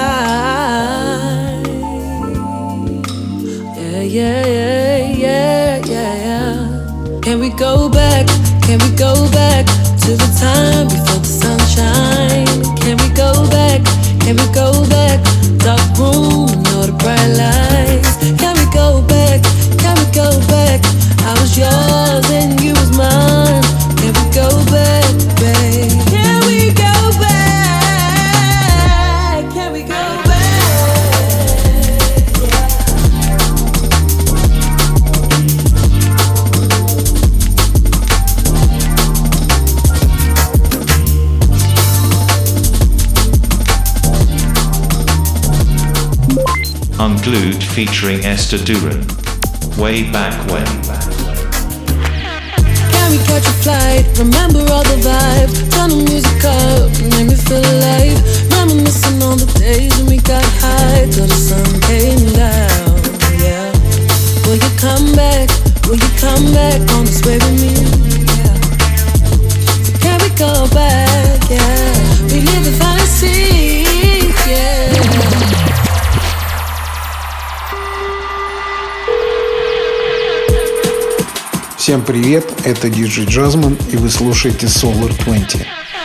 time. Yeah, yeah, yeah, yeah, yeah, yeah. Can we go back? Can we go back to the time before the sunshine? Can we go back? Can we go back? Dark room and all the bright lights. Can we go back? Can we go back? I was yours and you was mine. Can we go back, babe? Can we go back? Can we go back? Unglued featuring Esther Duran. Way back when. Can we catch a flight? Remember all the vibes. Turn the music up, make me feel alive. Reminiscing on the days when we got high till the sun came down. Yeah. Will you come back? Will you come back on this way with me? Yeah. So can we go back? Yeah. We live in fantasy. Yeah. Всем привет, это диджей Джазман, и вы слушаете Solar двадцать.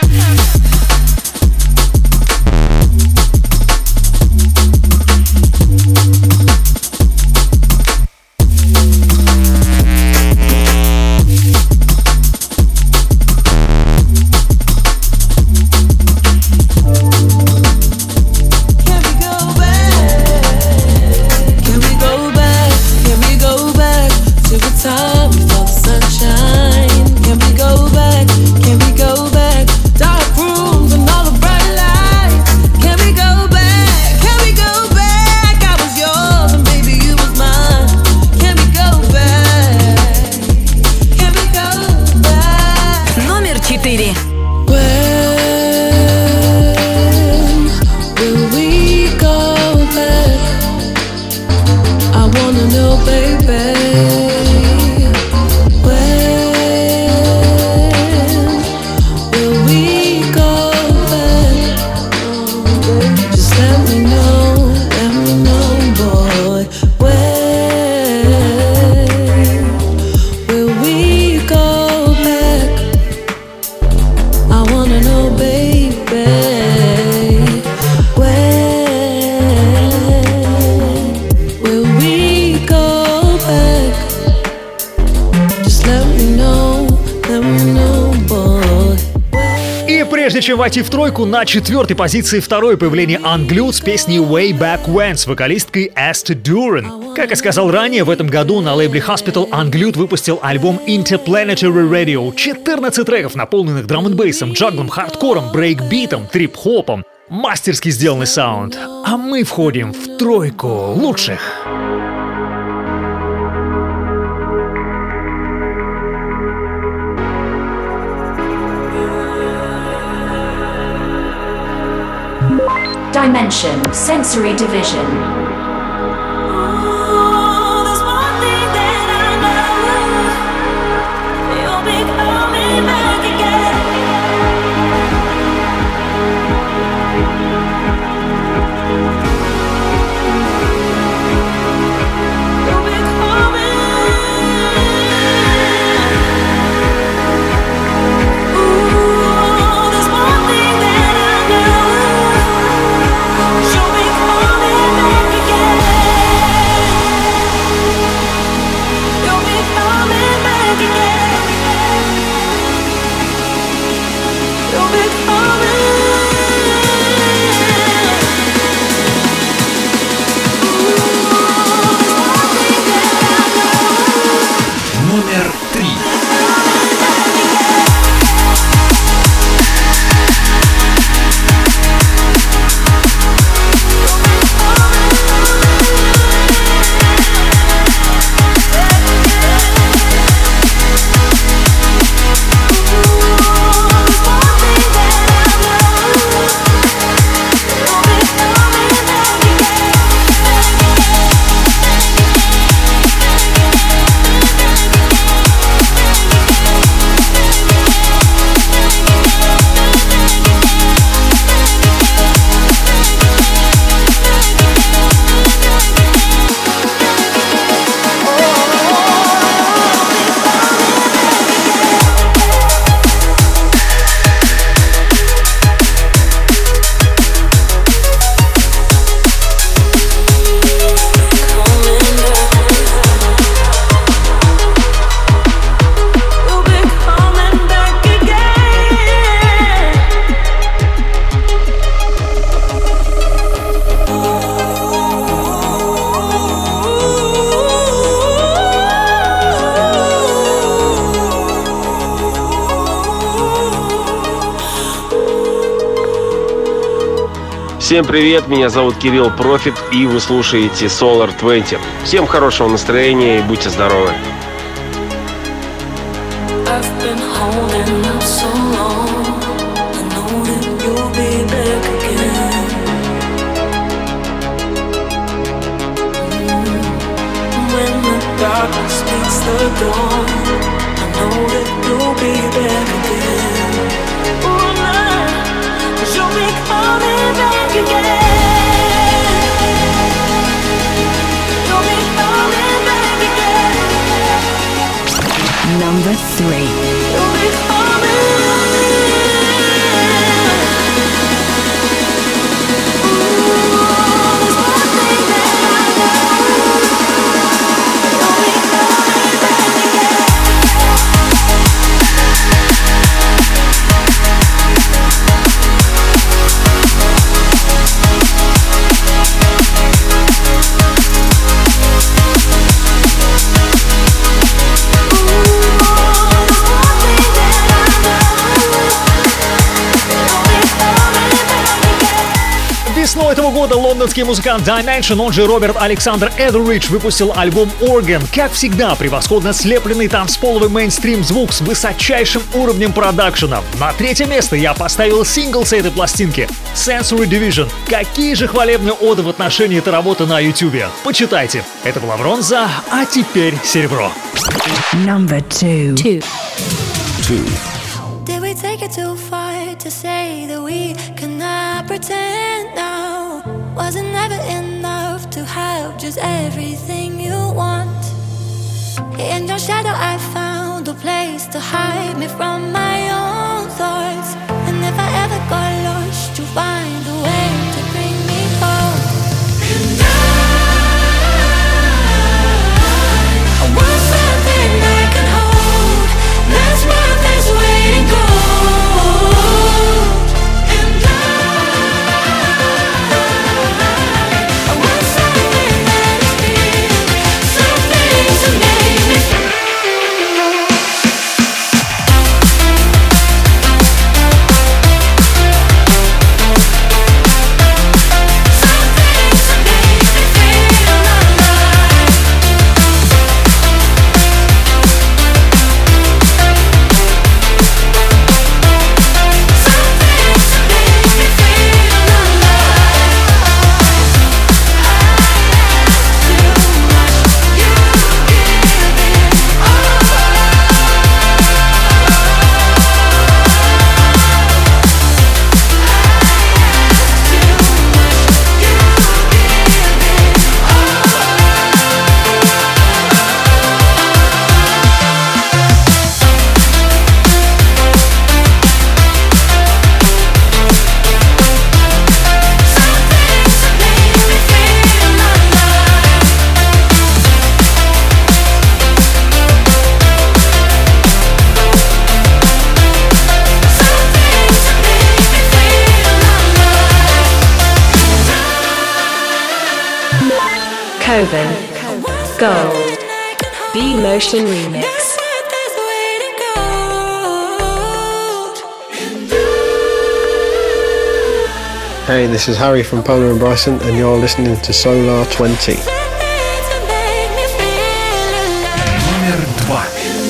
Чем войти в тройку, на четвертой позиции второе появление Unglued с песней Way Back When с вокалисткой Esther Duran. Как и сказал ранее, в этом году на лейбле Hospital Unglued выпустил альбом Interplanetary Radio. четырнадцать треков, наполненных драм-н-бейсом, джаглом, хардкором, брейкбитом, трип-хопом. Мастерски сделанный саунд. А мы входим в тройку лучших. Dimension Sensory Division. Show me coming back. Всем привет, меня зовут Кирилл Профит, и вы слушаете Solar двадцать. Всем хорошего настроения и будьте здоровы. Darkness meets the dawn. I know that you'll be back again. Oh, man, 'cause you'll be coming back again. You'll be coming back again. Number three. You'll be coming. Весной этого года лондонский музыкант Dimension, он же Роберт Александр Эдеридж, выпустил альбом Organ. Как всегда, превосходно слепленный танцполовый мейнстрим звук с высочайшим уровнем продакшена. На третье место я поставил сингл с этой пластинки Sensory Division. Какие же хвалебные оды в отношении этой работы на ютубе. Почитайте. Это была бронза, а теперь серебро. Number two. Two. Two. Did we take it too far to say that we cannot pretend now? Was it never enough to have just everything you want? In your shadow I found a place to hide me from my own thoughts. And if I ever got lost, you'll find a way to bring me home. And I, I want something I can hold. That's what this waiting goes. Coven Gold B-Motion Remix. Hey, this is Harry from Polar and Bryson, and you're listening to Solar twenty. Номер два.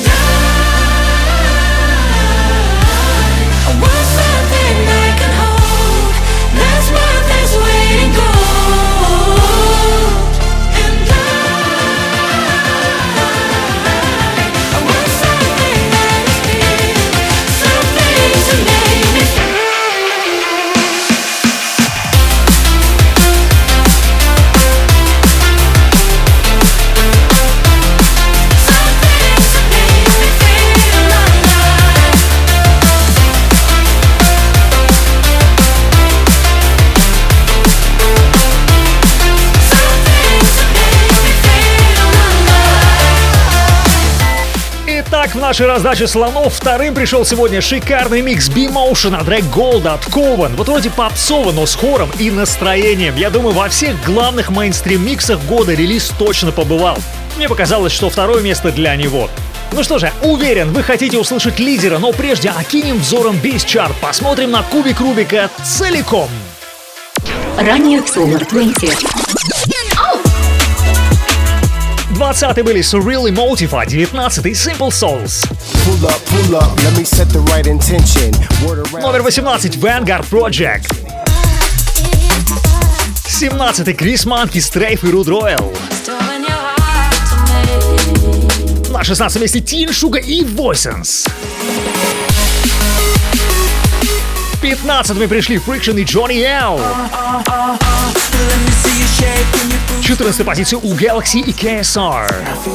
В нашей раздаче слонов вторым пришел сегодня шикарный микс B-Motion от трек Gold от Coven. Вот вроде попсово, но с хором и настроением. Я думаю, во всех главных мейнстрим-миксах года релиз точно побывал. Мне показалось, что второе место для него. Ну что же, уверен, вы хотите услышать лидера, но прежде окинем взором бейс-чарт. Посмотрим на кубик Рубика целиком. Ранее в Solar двадцать. двадцатый были Surreal Emotive, а девятнадцатый Simple Souls. Pull up, pull up, let me set the right intention. Word around. Номер восемнадцать Vanguard Project. семнадцатый Крис Манки, Стрейф и Руд Ройл. На шестнадцатом месте Тин Шуга и Voices. пятнадцатыми пришли Friction и Johnny L. четырнадцатая позиция у Galaxy и кей эс ар.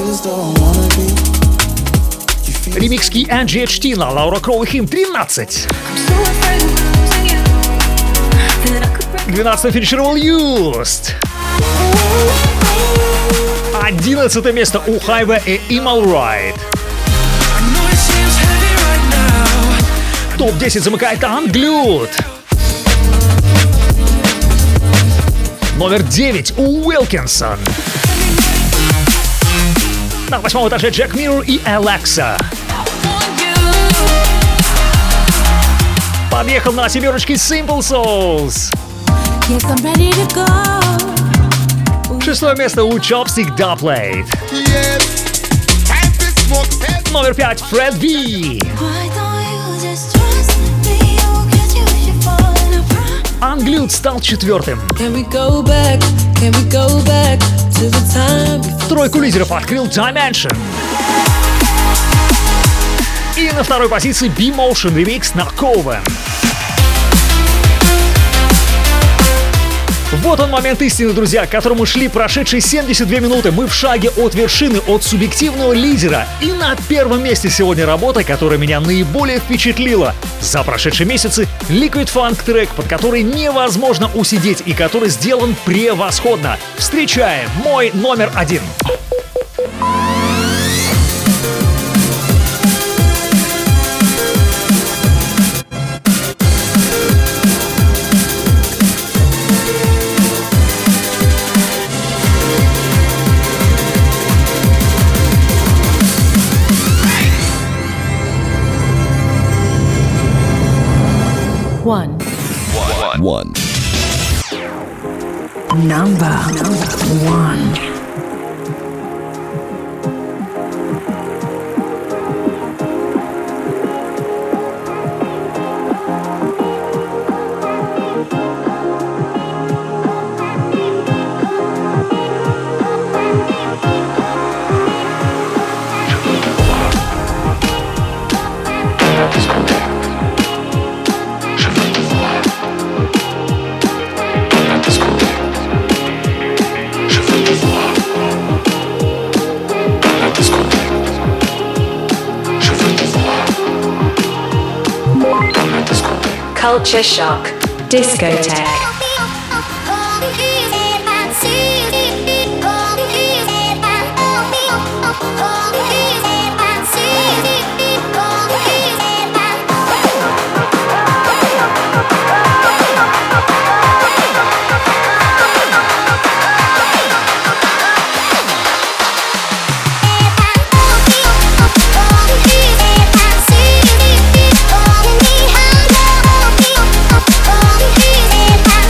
Ремикс Key and джи эйч ти на Лаура Кроу и Him тринадцать. двенадцатым финишировал Used. одиннадцатое место у Highway и Imal Ride. топ десять замыкает Unglued. Номер девять у Wilkinson. На восьмом этаже Джек Миррор и Alexa. Подъехал на семерочке Simple Souls. Шестое место у Chopstick Dubplate. Номер пять Фред Ви. Unglued стал четвертым. Тройку лидеров открыл Dimension. И на второй позиции B-Motion ремикс на Coven. Вот он момент истины, друзья, к которому шли прошедшие семьдесят две минуты. Мы в шаге от вершины, от субъективного лидера. И на первом месте сегодня работа, которая меня наиболее впечатлила за прошедшие месяцы. Liquid Funk трек, под который невозможно усидеть и который сделан превосходно. Встречаем мой номер один. One. One. Number one. Culture Shock Discotheque. Hey,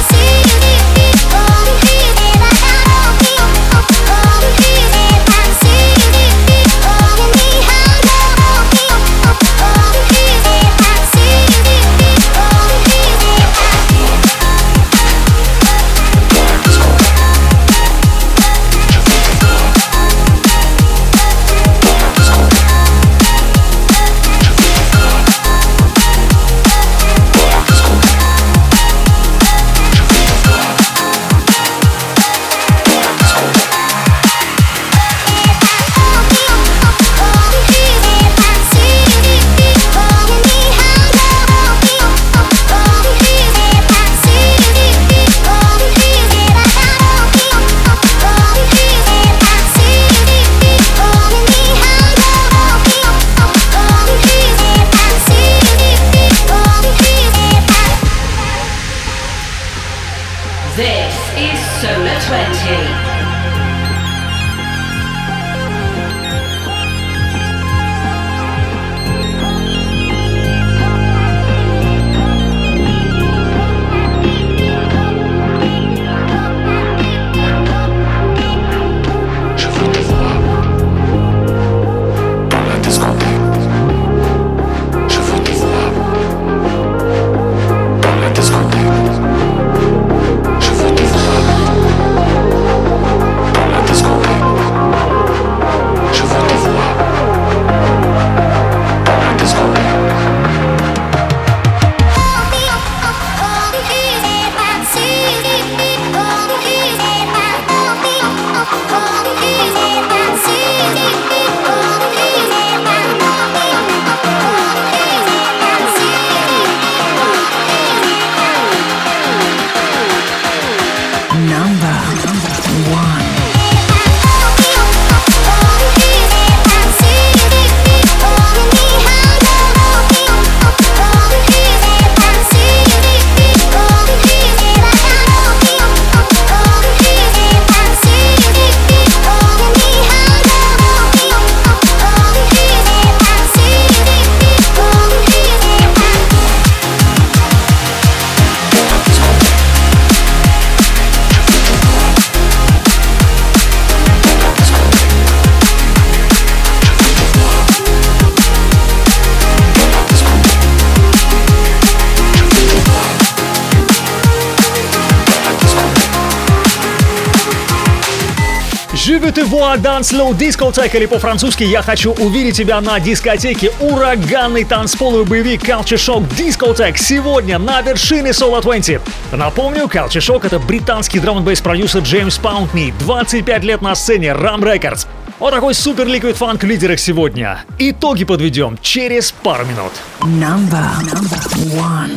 Je veux te voir dans slow discotheque, или по-французски «Я хочу увидеть тебя на дискотеке». Ураганный танцполовый боевик Culture Shock Discotheque сегодня на вершине Solar двадцать. Напомню, Culture Shock — это британский драм-н-бейс продюсер Джеймс Паунтни, двадцать пять лет на сцене Ram Records. Вот такой супер ликвид фанк в лидерах сегодня. Итоги подведем через пару минут. Number, number one.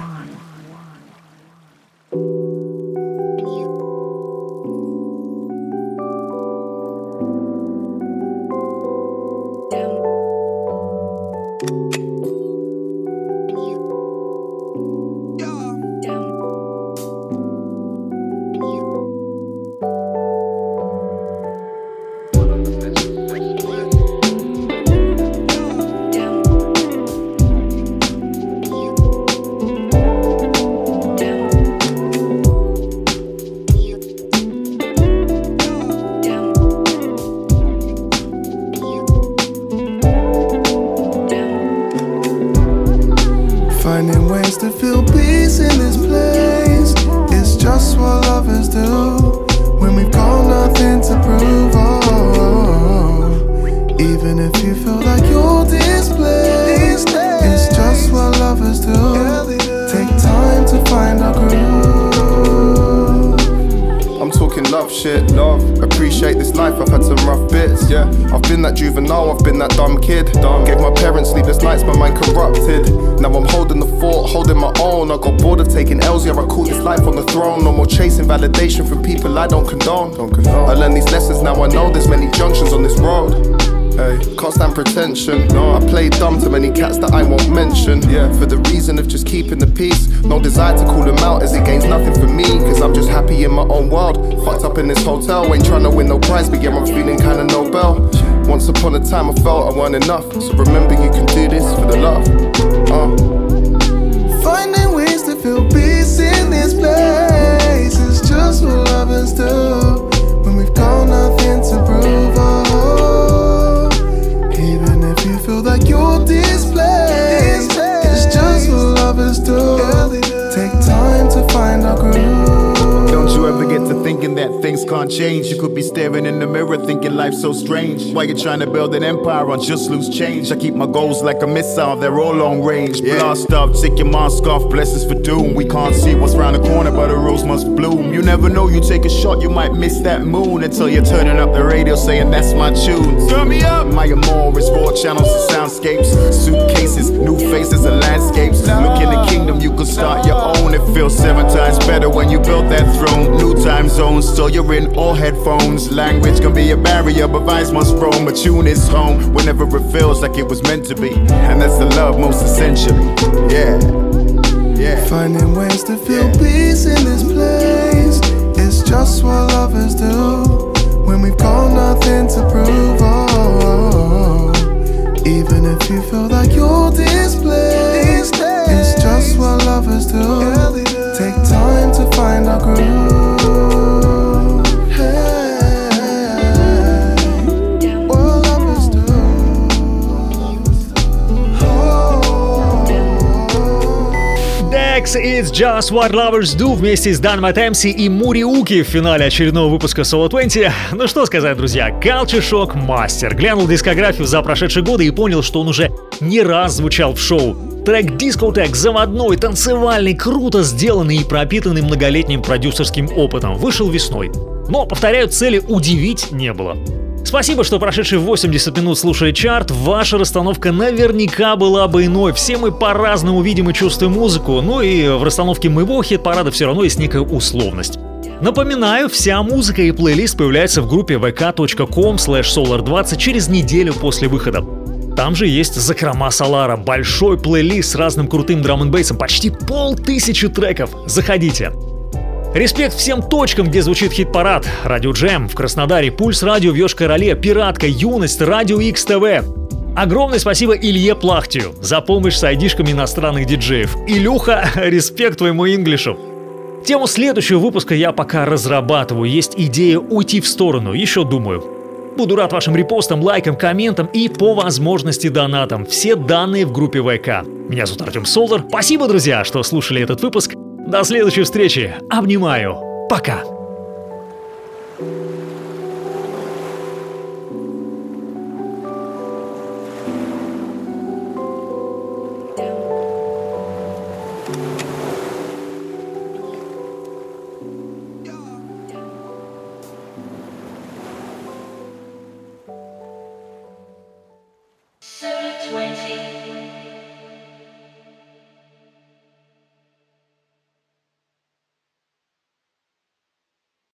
Finding ways to feel peace in this place. It's just what lovers do when we've got nothing to prove. Oh, even if you feel like you're displaced, it's just what lovers do. Take time to find our groove. I'm talking love shit, love. Appreciate this life, I've had some rough bits, yeah. I've been that juvenile, I've been that dumb kid. Dumb. Gave my parents sleepless nights, my mind corrupted. Now I'm holding the fort, holding my own. I got bored of taking L's, yeah, I call this life on the throne. No more chasing validation from people I don't condone. Don't condone. I learned these lessons, now I know there's many junctions on this road. Hey, can't stand pretension. No, I play dumb to many cats that I won't mention. Yeah, for the reason of just keeping the peace. No desire to call them out as it gains nothing for me. Cause I'm just happy in my own world. Fucked up in this hotel, ain't trying to win no prize, but yeah, I'm feeling kinda Nobel. Once upon a time I felt I weren't enough. So remember you can do this for the love. uh. Finding ways to feel peace in this place. It's just what lovers do when we've got nothing to prove. Oh, even if you feel like you're displaced, it's just what lovers do. Take time to find our groove. Don't you ever get to thinking that things can't change? You could be staring in the mirror thinking life's so strange. Why you trying to build an empire on just loose change? I keep my goals like a missile, they're all long range. Yeah. Blast off, take your mask off, blessings for doom. We can't see what's round the corner, but a rose must bloom. You never know, you take a shot, you might miss that moon until you're turning up the radio saying that's my tune. Turn me up! My amour is four channels and soundscapes, suitcases, new faces and landscapes. Look in the kingdom, you could start your own. It feels seven times better when you built that throne. New time zones, so you're in all headphones. Language can be a barrier, but vibes must roam. A tune is home whenever it feels like it was meant to be. And that's the love most essentially. Yeah, yeah. Finding ways to feel yeah. peace in this place. It's just what lovers do when we've got nothing to prove. Oh, even if you feel like you're displaced, it's just what lovers do. Take time to find our groove. It's Just What Lovers Do вместе с Dynamite эм си и Муриуки в финале очередного выпуска Solar двадцать. Ну что сказать, друзья, Culture Shock мастер. Глянул дискографию за прошедшие годы и понял, что он уже не раз звучал в шоу. Трек Discotheque заводной, танцевальный, круто сделанный и пропитанный многолетним продюсерским опытом. Вышел весной. Но, повторяю, цели удивить не было. Спасибо, что прошедшие восемьдесят минут слушали чарт. Ваша расстановка наверняка была бы иной. Все мы по-разному видим и чувствуем музыку. Ну и в расстановке моего хит-парада все равно есть некая условность. Напоминаю, вся музыка и плейлист появляются в группе ви кей точка ком слэш солар двадцать через неделю после выхода. Там же есть закрома Солара, большой плейлист с разным крутым драм-н-бейсом, почти полтысячи треков. Заходите. Респект всем точкам, где звучит хит-парад. Радио Джем в Краснодаре, Пульс Радио в Йошкар-Оле, Пиратка, Юность, Радио Икс ТВ. Огромное спасибо Илье Плахтию за помощь с айдишками иностранных диджеев. Илюха, респект твоему инглишу. Тему следующего выпуска я пока разрабатываю. Есть идея уйти в сторону, еще думаю. Буду рад вашим репостам, лайкам, комментам и по возможности донатам. Все данные в группе ви кей. Меня зовут Артем Солар. Спасибо, друзья, что слушали этот выпуск. До следующей встречи. Обнимаю. Пока. twenty.